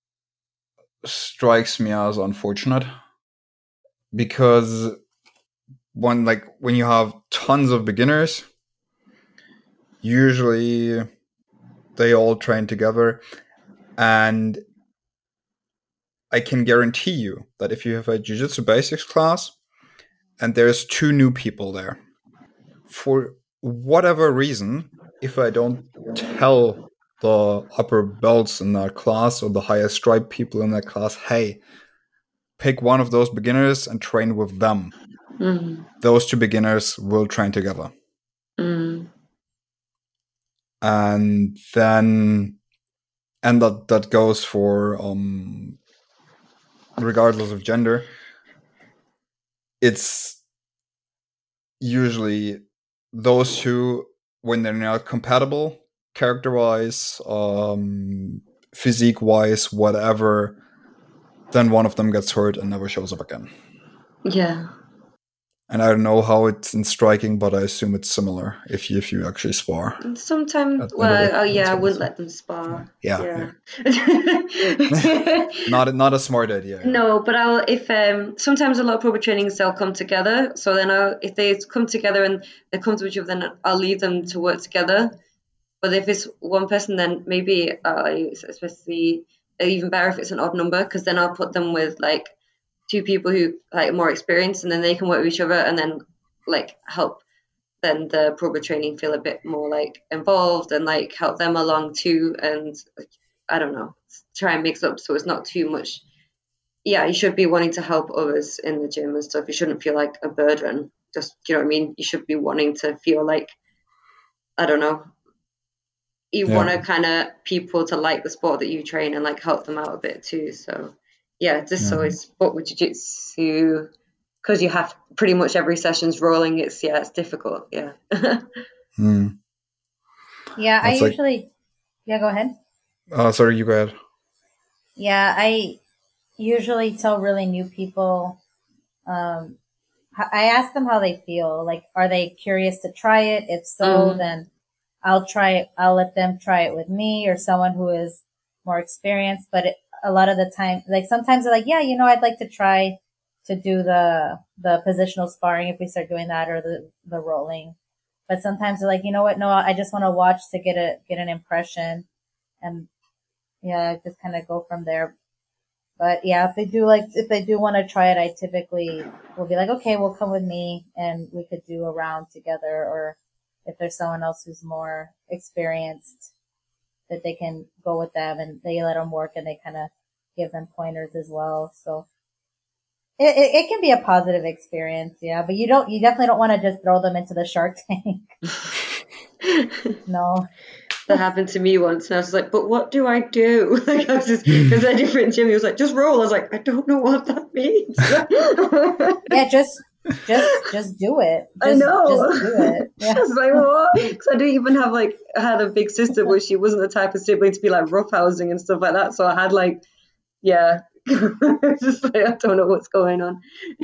strikes me as unfortunate because when like when you have tons of beginners, usually they all train together, and I can guarantee you that if you have a Jiu-Jitsu basics class and there's two new people there, for whatever reason, if I don't tell the upper belts in that class or the higher stripe people in that class, hey, pick one of those beginners and train with them, Mm. those two beginners will train together. Mm. And then, and that, that goes for, um, regardless of gender, it's usually those two, when they're not compatible, character-wise, um, physique-wise, whatever, then one of them gets hurt and never shows up again. Yeah. And I don't know how it's in striking, but I assume it's similar if you if you actually spar. And sometimes, At the end of well, it, oh yeah, that's I what wouldn't it's- let them spar. Yeah, Yeah. Not a, not a smart idea. Yeah. No, but I'll if um sometimes a lot of proper trainings they'll come together. So then I'll if they come together and they come to each other, then I'll leave them to work together. But if it's one person, then maybe uh, especially even better if it's an odd number, because then I'll put them with like two people who like more experienced, and then they can work with each other, and then like help then the proper training feel a bit more like involved and like help them along too. And like, I don't know, try and mix up so it's not too much. Yeah, you should be wanting to help others in the gym and stuff. You shouldn't feel like a burden. Just, you know what I mean? You should be wanting to feel like I don't know, you Yeah. want to kind of people to like the sport that you train and like help them out a bit too. So yeah, just Yeah. always sport with jiu-jitsu, because you have pretty much every session's rolling. It's yeah, it's difficult. Yeah. Hmm. Yeah, I That's like, usually, yeah, go ahead. uh, sorry, you go ahead. Yeah, I usually tell really new people, um, h- I ask them how they feel. Like, are they curious to try it? If so, Mm. then I'll try it. I'll let them try it with me or someone who is more experienced. But it, a lot of the time, like sometimes they're like, yeah, you know, I'd like to try to do the, the positional sparring if we start doing that, or the, the rolling. But sometimes they're like, you know what? No, I just want to watch to get a, get an impression. And yeah, just kind of go from there. But yeah, if they do like, if they do want to try it, I typically will be like, okay, well, come with me and we could do a round together. Or if there's someone else who's more experienced, that they can go with them and they let them work and they kind of give them pointers as well. So it, it, it can be a positive experience. Yeah. But you don't, you definitely don't want to just throw them into the Shark Tank. No. That happened to me once, and I was like, "But what do I do?" Like, I was just, it was a different gym. He was like, "Just roll." I was like, "I don't know what that means." Yeah, just, just, just do it. Just, I know. Just do it. Yeah. I was like, "What?" Because I didn't even have like, I had a big sister, but she wasn't the type of sibling to be like roughhousing and stuff like that. So I had like, yeah, it's just like, I don't know what's going on.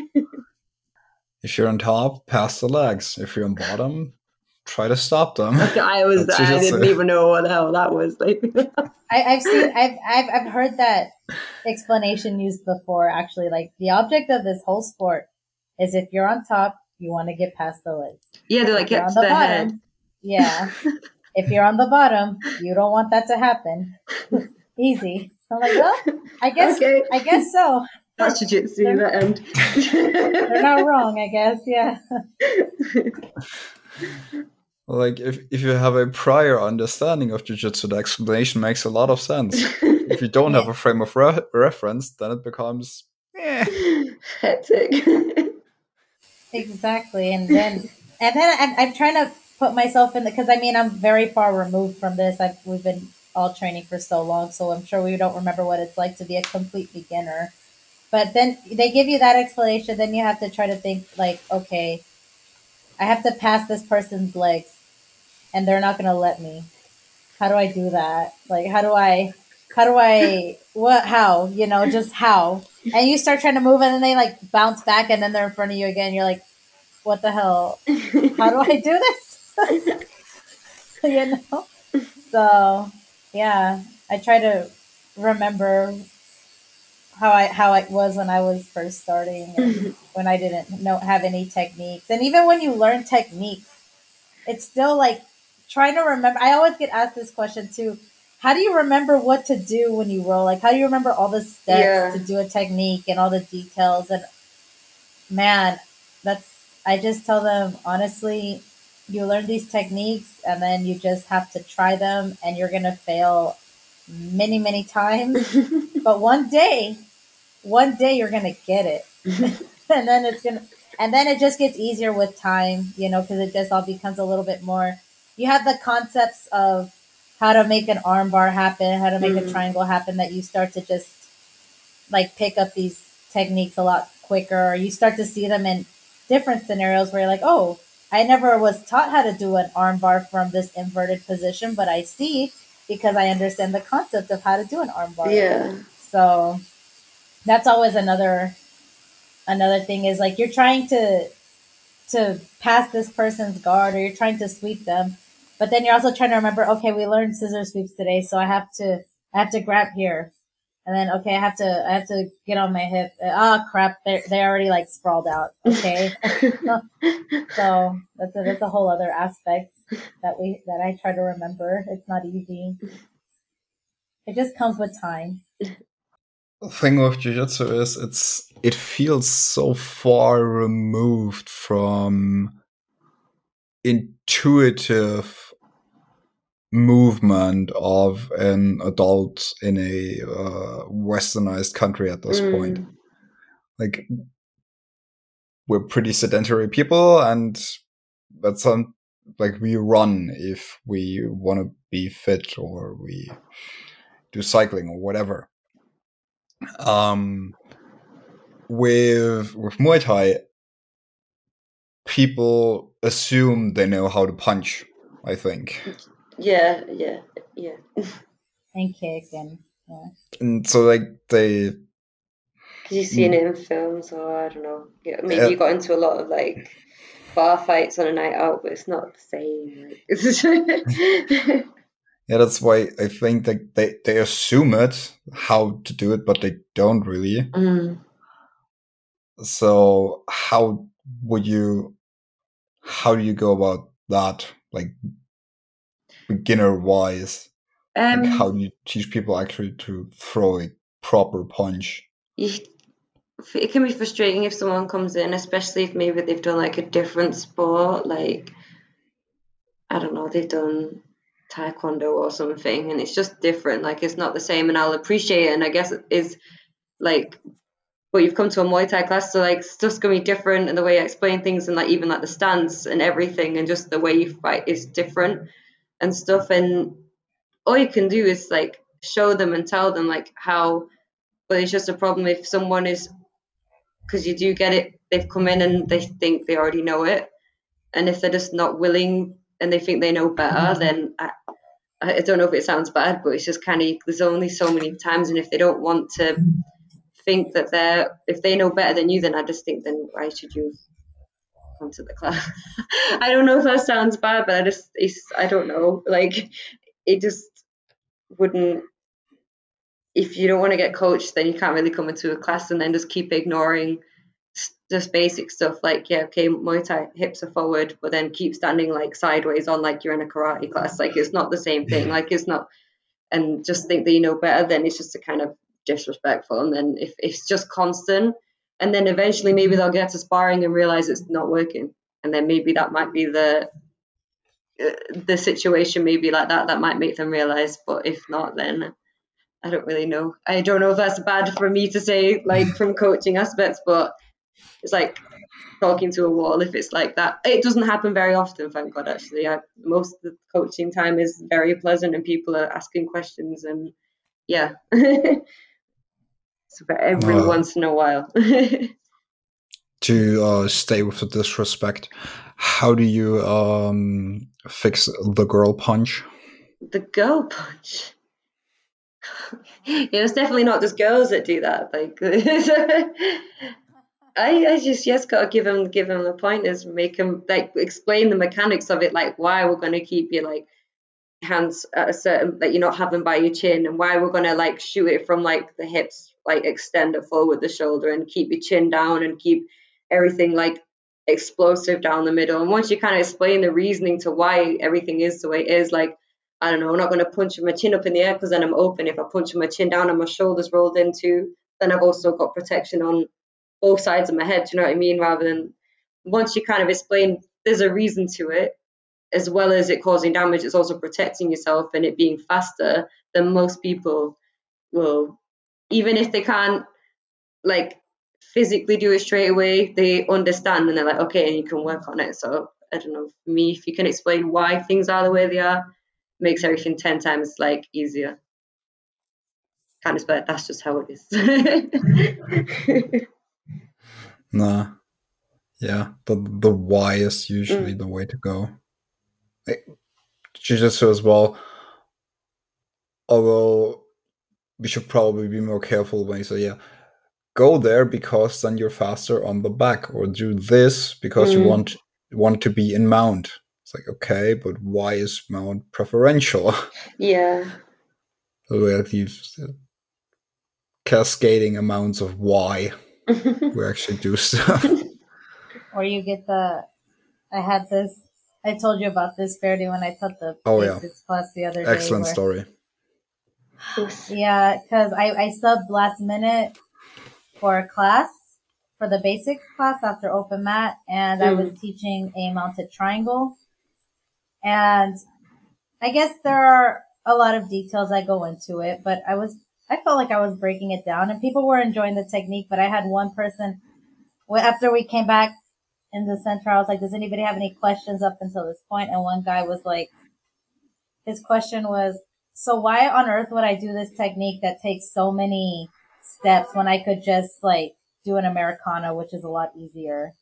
If you're on top, pass the legs. If you're on bottom, try to stop them. I was, That's I jiu-jitsu. didn't even know what the hell that was like. I, I've seen, I've, I've, I've heard that explanation used before. Actually, like the object of this whole sport is if you're on top, you want to get past the legs. Yeah, they're like, If you're get on to the the bottom, head. yeah. If you're on the bottom, you don't want that to happen. Easy. I'm like, well, I guess, Okay. I guess so. That's jiu-jitsu, that end. They're not wrong, I guess. Yeah. Like, if, if you have a prior understanding of jiu-jitsu, the explanation makes a lot of sense. If you don't have Yeah. a frame of re- reference, then it becomes eh. Hectic. Exactly. And then, and then I'm, I'm trying to put myself in the, cause I mean, I'm very far removed from this. I've, we've been all training for so long. So I'm sure we don't remember what it's like to be a complete beginner. But then they give you that explanation. Then you have to try to think like, okay, I have to pass this person's legs and they're not going to let me. How do I do that? Like, how do I, how do I, what, how, you know, just how? And you start trying to move and then they like bounce back and then they're in front of you again. You're like, what the hell? How do I do this? You know? So, yeah, I try to remember how I how it was when I was first starting and when I didn't know have any techniques. And even when you learn techniques, it's still like trying to remember. I always get asked this question too. How do you remember what to do when you roll? Like, how do you remember all the steps Yeah. to do a technique and all the details? And man, that's, I just tell them honestly, you learn these techniques and then you just have to try them and you're going to fail many, many times. But one day, one day you're going to get it. And then it's going to, and then it just gets easier with time, you know, because it just all becomes a little bit more. You have the concepts of how to make an arm bar happen, how to make Mhm. a triangle happen, that you start to just like pick up these techniques a lot quicker, or you start to see them in different scenarios where you're like, oh, I never was taught how to do an arm bar from this inverted position, but I see because I understand the concept of how to do an arm bar. Yeah. So that's always another another thing is like you're trying to to pass this person's guard or you're trying to sweep them, but then you're also trying to remember, okay, we learned scissor sweeps today, so I have to I have to grab here. And then, okay, I have to, I have to get on my hip. Oh crap, they they already like sprawled out. Okay, so that's a that's a whole other aspect that we that I try to remember. It's not easy. It just comes with time. The thing with jiu-jitsu is it's it feels so far removed from intuitive movement of an adult in a uh, westernized country at this Mm. point. Like, we're pretty sedentary people, and at some like we run if we want to be fit, or we do cycling or whatever. Um, with with Muay Thai, people assume they know how to punch, I think. Yeah, yeah, yeah. And kick and yeah. And so like they Because you've seen it in films, or I don't know. Yeah, maybe uh, you got into a lot of like bar fights on a night out, but it's not the same. Like, it's yeah, that's why I think that they, they assume it, how to do it, but they don't really. mm. So how would you, how do you go about that, like beginner wise? Um, like how do you teach people actually to throw a proper punch? you, it can be frustrating if someone comes in, especially if maybe they've done like a different sport, like I don't know, they've done taekwondo or something, and it's just different. Like it's not the same, and I'll appreciate it. And I guess it is like, but you've come to a Muay Thai class, so like stuff's gonna be different, and the way I explain things, and like even like the stance and everything, and just the way you fight is different and stuff. And all you can do is like show them and tell them like how. But it's just a problem if someone is, because you do get it, they've come in and they think they already know it, and if they're just not willing and they think they know better, then I, I don't know if it sounds bad, but it's just kind of, there's only so many times, and if they don't want to think that they're, if they know better than you, then I just think, then why should you come to the class? I don't know if that sounds bad, but I just, it's, I don't know, like it just wouldn't, if you don't want to get coached, then you can't really come into a class and then just keep ignoring just basic stuff like, yeah, okay, Muay Thai, hips are forward, but then keep standing like sideways on like you're in a karate class. Like it's not the same thing. Like it's not, and just think that you know better, then it's just a kind of disrespectful. And then if, if it's just constant, and then eventually maybe they'll get to sparring and realize it's not working, and then maybe that might be the uh, the situation, maybe like that that might make them realize. But if not, then I don't really know. I don't know if that's bad for me to say, like from coaching aspects, but it's like talking to a wall if it's like that. It doesn't happen very often, thank God, actually. I, most of the coaching time is very pleasant and people are asking questions, and yeah. So every Uh, once in a while. to uh, stay with the disrespect, how do you um, fix the girl punch? The girl punch. Yeah, it's definitely not just girls that do that. Like, I, I just yes gotta give him give him the pointers, make him like explain the mechanics of it, like why we're gonna keep you like hands at a certain, like you're not having by your chin, and why we're gonna like shoot it from like the hips, like extend it forward the shoulder and keep your chin down and keep everything like explosive down the middle. And once you kind of explain the reasoning to why everything is the way it is, like I don't know, I'm not gonna punch my chin up in the air because then I'm open. If I punch my chin down and my shoulders rolled into, then I've also got protection on both sides of my head. Do you know what I mean? Rather than, once you kind of explain there's a reason to it, as well as it causing damage, it's also protecting yourself and it being faster, then most people will, even if they can't like physically do it straight away, they understand and they're like, okay, and you can work on it. So I don't know, for me, if you can explain why things are the way they are, it makes everything ten times like easier. Can't explain it, that's just how it is. Nah. Yeah, the the why is usually mm. the way to go. Jiu-Jitsu as well, although we should probably be more careful when you say, yeah, go there because then you're faster on the back, or do this because mm. you want want to be in mount. It's like, okay, but why is mount preferential? Yeah. So we have these cascading amounts of why we actually do stuff. Or you get the, I had this, I told you about this, Verdi, when I taught the oh, basics yeah. class the other Excellent day. Excellent story. Yeah, because I, I subbed last minute for a class, for the basics class after open mat, and mm. I was teaching a mounted triangle. And I guess there are a lot of details I go into it, but I was, I felt like I was breaking it down and people were enjoying the technique, but I had one person, after we came back in the center. I was like, does anybody have any questions up until this point? And one guy was like, his question was, so why on earth would I do this technique that takes so many steps when I could just like do an Americana, which is a lot easier?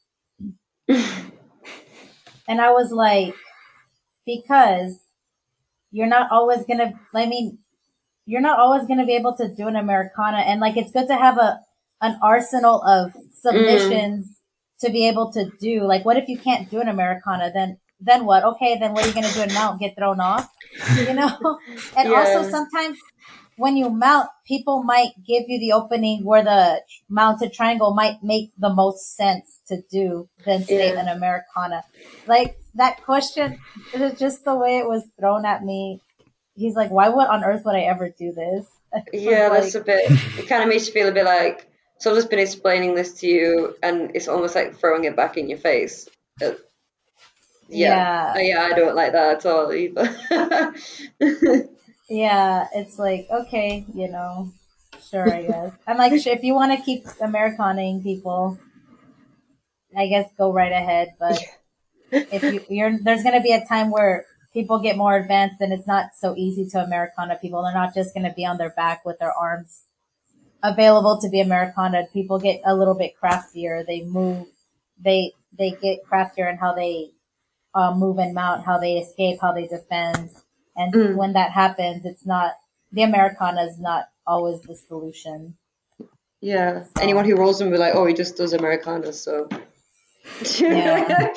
And I was like, because you're not always going to, I mean, you're not always going to be able to do an Americana. And like, it's good to have a, an arsenal of submissions mm. to be able to do. Like, what if you can't do an Americana? Then, then what? Okay, then what are you going to do in mount? Get thrown off? You know? And yeah. Also sometimes when you mount, people might give you the opening where the mounted triangle might make the most sense to do than say yeah. an Americana. Like that question, it was just the way it was thrown at me. He's like, why would on earth would I ever do this? Yeah, like, that's a bit, it kind of makes you feel a bit like, so I've just been explaining this to you and it's almost like throwing it back in your face. Uh, yeah. Yeah. yeah, I don't like that at all either. Yeah, it's like, okay, you know, sure, I guess. I'm like, if you want to keep Americanaing people, I guess go right ahead. But if you, you're, there's going to be a time where people get more advanced and it's not so easy to Americana people. They're not just going to be on their back with their arms available to be Americana. People get a little bit craftier. They move, they, they get craftier in how they uh, move and mount, how they escape, how they defend. And mm. when that happens, it's not, the Americana is not always the solution. Yeah. So. Anyone who rolls them will be like, oh, he just does Americana, so. Yeah.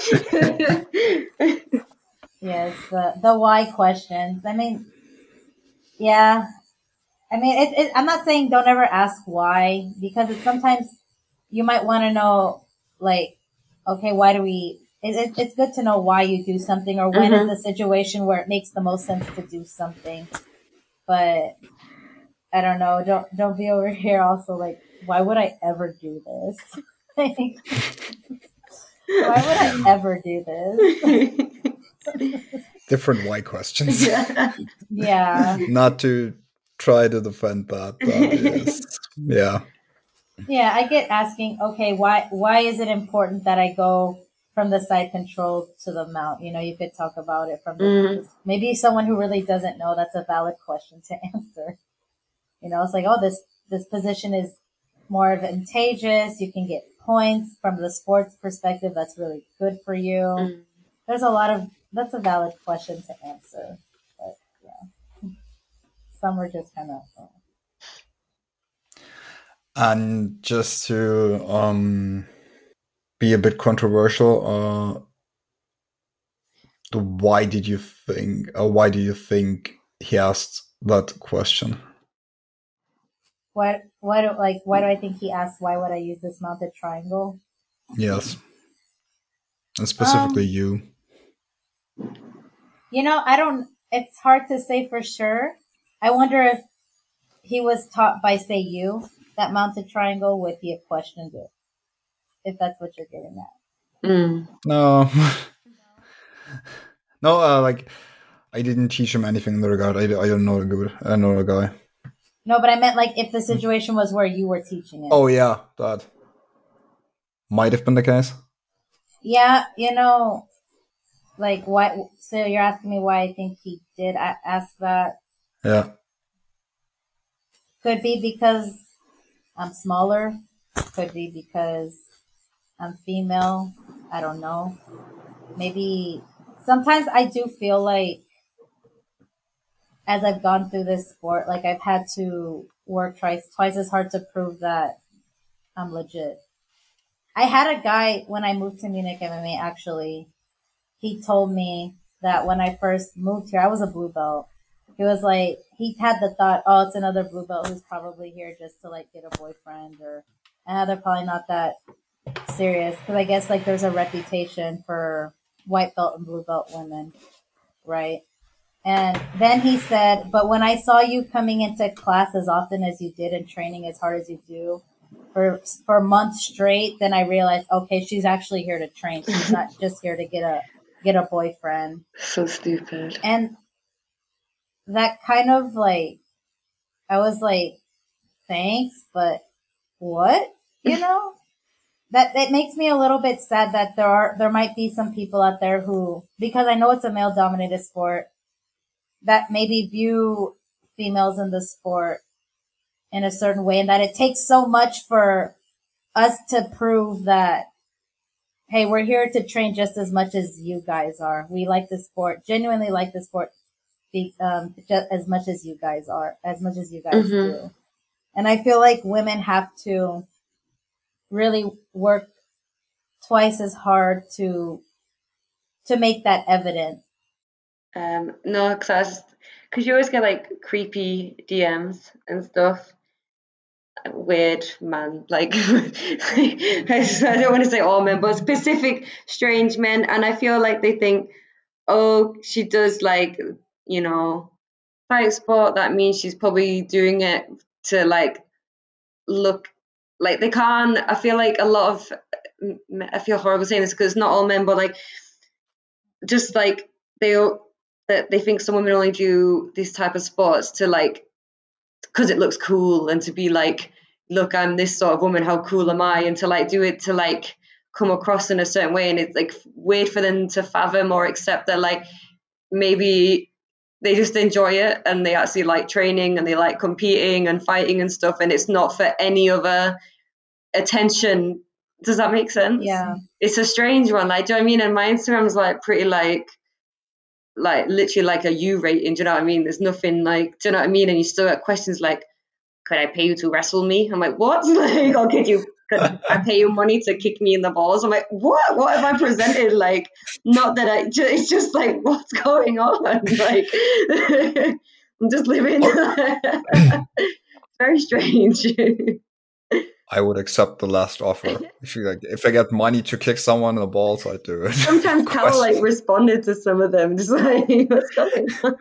Yes, the, the why questions. I mean, yeah. I mean, it, it, I'm not saying don't ever ask why, because it's sometimes you might want to know, like, okay, why do we, it, it, it's good to know why you do something or when mm-hmm. is the situation where it makes the most sense to do something. But I don't know. Don't, don't be over here also like, why would I ever do this? Like, why would I ever do this? Different why questions. Yeah. Yeah. Not to try to defend that. That is, yeah. Yeah, I get asking, okay, why why is it important that I go from the side control to the mount? You know, you could talk about it from the, mm. maybe someone who really doesn't know, that's a valid question to answer. You know, it's like, oh, this, this position is more advantageous. You can get points from the sports perspective. That's really good for you. Mm. There's a lot of, that's a valid question to answer. But yeah, some are just kind of. Oh. And just to um, be a bit controversial, uh, the why did you think, or why do you think he asked that question? What, why do, like, why do I think he asked, why would I use this mounted triangle? Yes. And specifically um, you. You know, I don't, it's hard to say for sure. I wonder if he was taught by, say, you, that mounted triangle, would he have questioned it? If that's what you're getting at. Mm. No. no, uh, like, I didn't teach him anything in the regard. I, I don't know the good. I don't know the guy. No, but I meant like if the situation was where you were teaching it. Oh, yeah, that might have been the case. Yeah, you know, like what, so you're asking me why I think he did ask that? Yeah. Could be because I'm smaller. Could be because I'm female. I don't know. Maybe sometimes I do feel like as I've gone through this sport, like I've had to work twice, twice as hard to prove that I'm legit. I had a guy when I moved to Munich M M A, actually, he told me that when I first moved here, I was a blue belt. He was like, he had the thought, oh, it's another blue belt who's probably here just to like get a boyfriend, or, and they're probably not that serious. Cause I guess like there's a reputation for white belt and blue belt women, right? And then he said, but when I saw you coming into class as often as you did and training as hard as you do for for months straight, then I realized, okay, she's actually here to train. She's not just here to get a get a boyfriend. So stupid. And that kind of like, I was like, thanks, but what? You know? that, that makes me a little bit sad that there are, there might be some people out there who, because I know it's a male dominated sport, that maybe view females in the sport in a certain way, and that it takes so much for us to prove that, hey, we're here to train just as much as you guys are. We like the sport, genuinely like the sport, um, just as much as you guys are, as much as you guys mm-hmm. do. And I feel like women have to really work twice as hard to to make that evident. Um, no, because because you always get like creepy D Ms and stuff. Weird man, like I don't want to say all men, but specific strange men, and I feel like they think, oh, she does like, you know, fight sport. That means she's probably doing it to like look like they can't. I feel like a lot of I feel horrible saying this because not all men, but like just like they that they think some women only do these type of sports to like because it looks cool and to be like, look, I'm this sort of woman, how cool am I? And to like do it to like come across in a certain way. And it's like weird for them to fathom or accept that like maybe they just enjoy it and they actually like training and they like competing and fighting and stuff. And it's not for any other attention. Does that make sense? Yeah. It's a strange one. Like, do you know what I mean? And my Instagram's like pretty like, like literally like a U rating, do you know what I mean? There's nothing like, do you know what I mean? And you still get questions like, could I pay you to wrestle me? I'm like, what? Like, I'll give you, could I pay you money to kick me in the balls? I'm like, what? What have I presented? Like, not that I, it's just like, what's going on? Like, I'm just living, very strange. I would accept the last offer. If you like, if I get money to kick someone in the balls, I'd do it. Sometimes Cal like responded to some of them, just like, what's going on?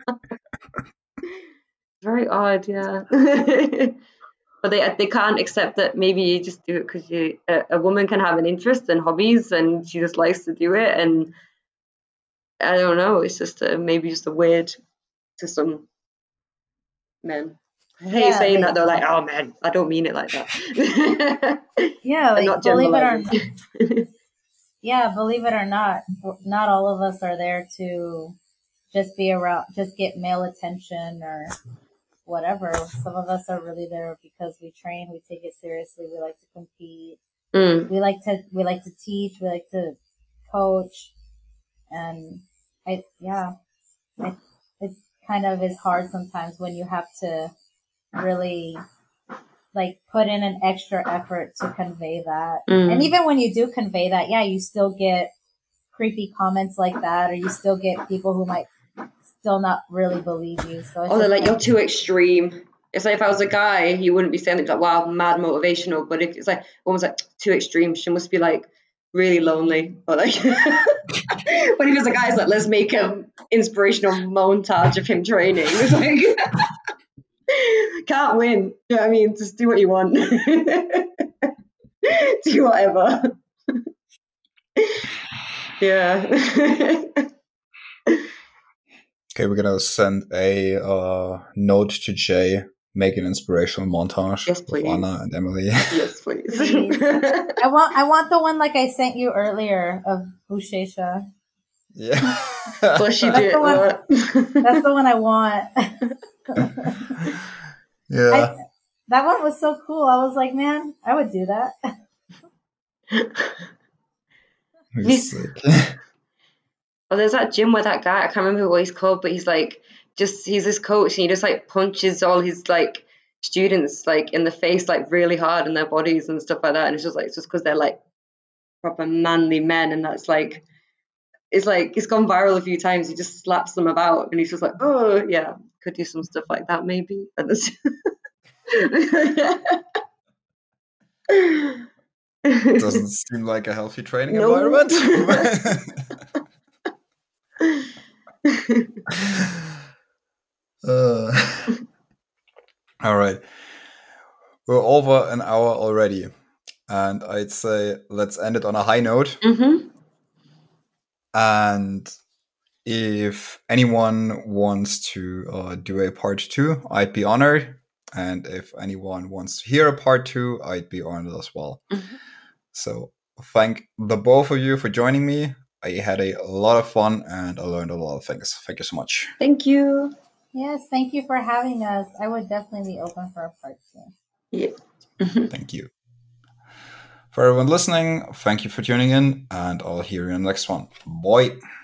Very odd, yeah. But they they can't accept that maybe you just do it because you a, a woman can have an interest and hobbies and she just likes to do it, and I don't know, it's just a, maybe just a weird to some men. I hate yeah, saying that, they're like, oh man, I don't mean it like that. Yeah, like believe it or not. Yeah, believe it or not, not all of us are there to just be around, just get male attention or whatever. Some of us are really there because we train, we take it seriously, we like to compete, mm. we like to we like to teach, we like to coach, and I yeah, it it kind of is hard sometimes when you have to really like put in an extra effort to convey that. Mm. And even when you do convey that, yeah, you still get creepy comments like that, or you still get people who might still not really believe you. So it's oh, they're like, you're too extreme. It's like if I was a guy, you wouldn't be saying it like, wow, mad motivational. But if it's like almost like too extreme, she must be like really lonely. Or like, but if it's a guy, it's like, let's make an inspirational montage of him training. It's like, can't win. You know what I mean? Just do what you want. Do whatever. Yeah. Okay, we're gonna send a uh, note to Jay, make an inspirational montage yes, please. Of Anna and Emily. Yes, please. please. I want I want the one like I sent you earlier of Bushesha. Yeah. Well, she that's did. The one, that's the one I want. Yeah. I, that one was so cool. I was like, man, I would do that. He's well, there's that gym where that guy, I can't remember what he's called, but he's like, just, he's this coach and he just like punches all his like students like in the face, like really hard in their bodies and stuff like that. And it's just like, it's just because they're like proper manly men. And that's like, it's like, it's gone viral a few times. He just slaps them about and he's just like, oh yeah, could do some stuff like that maybe. Doesn't seem like a healthy training no. environment. uh, all right, we're over an hour already, and I'd say let's end it on a high note. Mm-hmm. And if anyone wants to uh, do a part two, I'd be honored. And if anyone wants to hear a part two, I'd be honored as well. Mm-hmm. So thank the both of you for joining me. I had a lot of fun and I learned a lot of things. Thank you so much. Thank you. Yes, thank you for having us. I would definitely be open for a part two. Yeah. Thank you. For everyone listening, thank you for tuning in, and I'll hear you in the next one. Bye.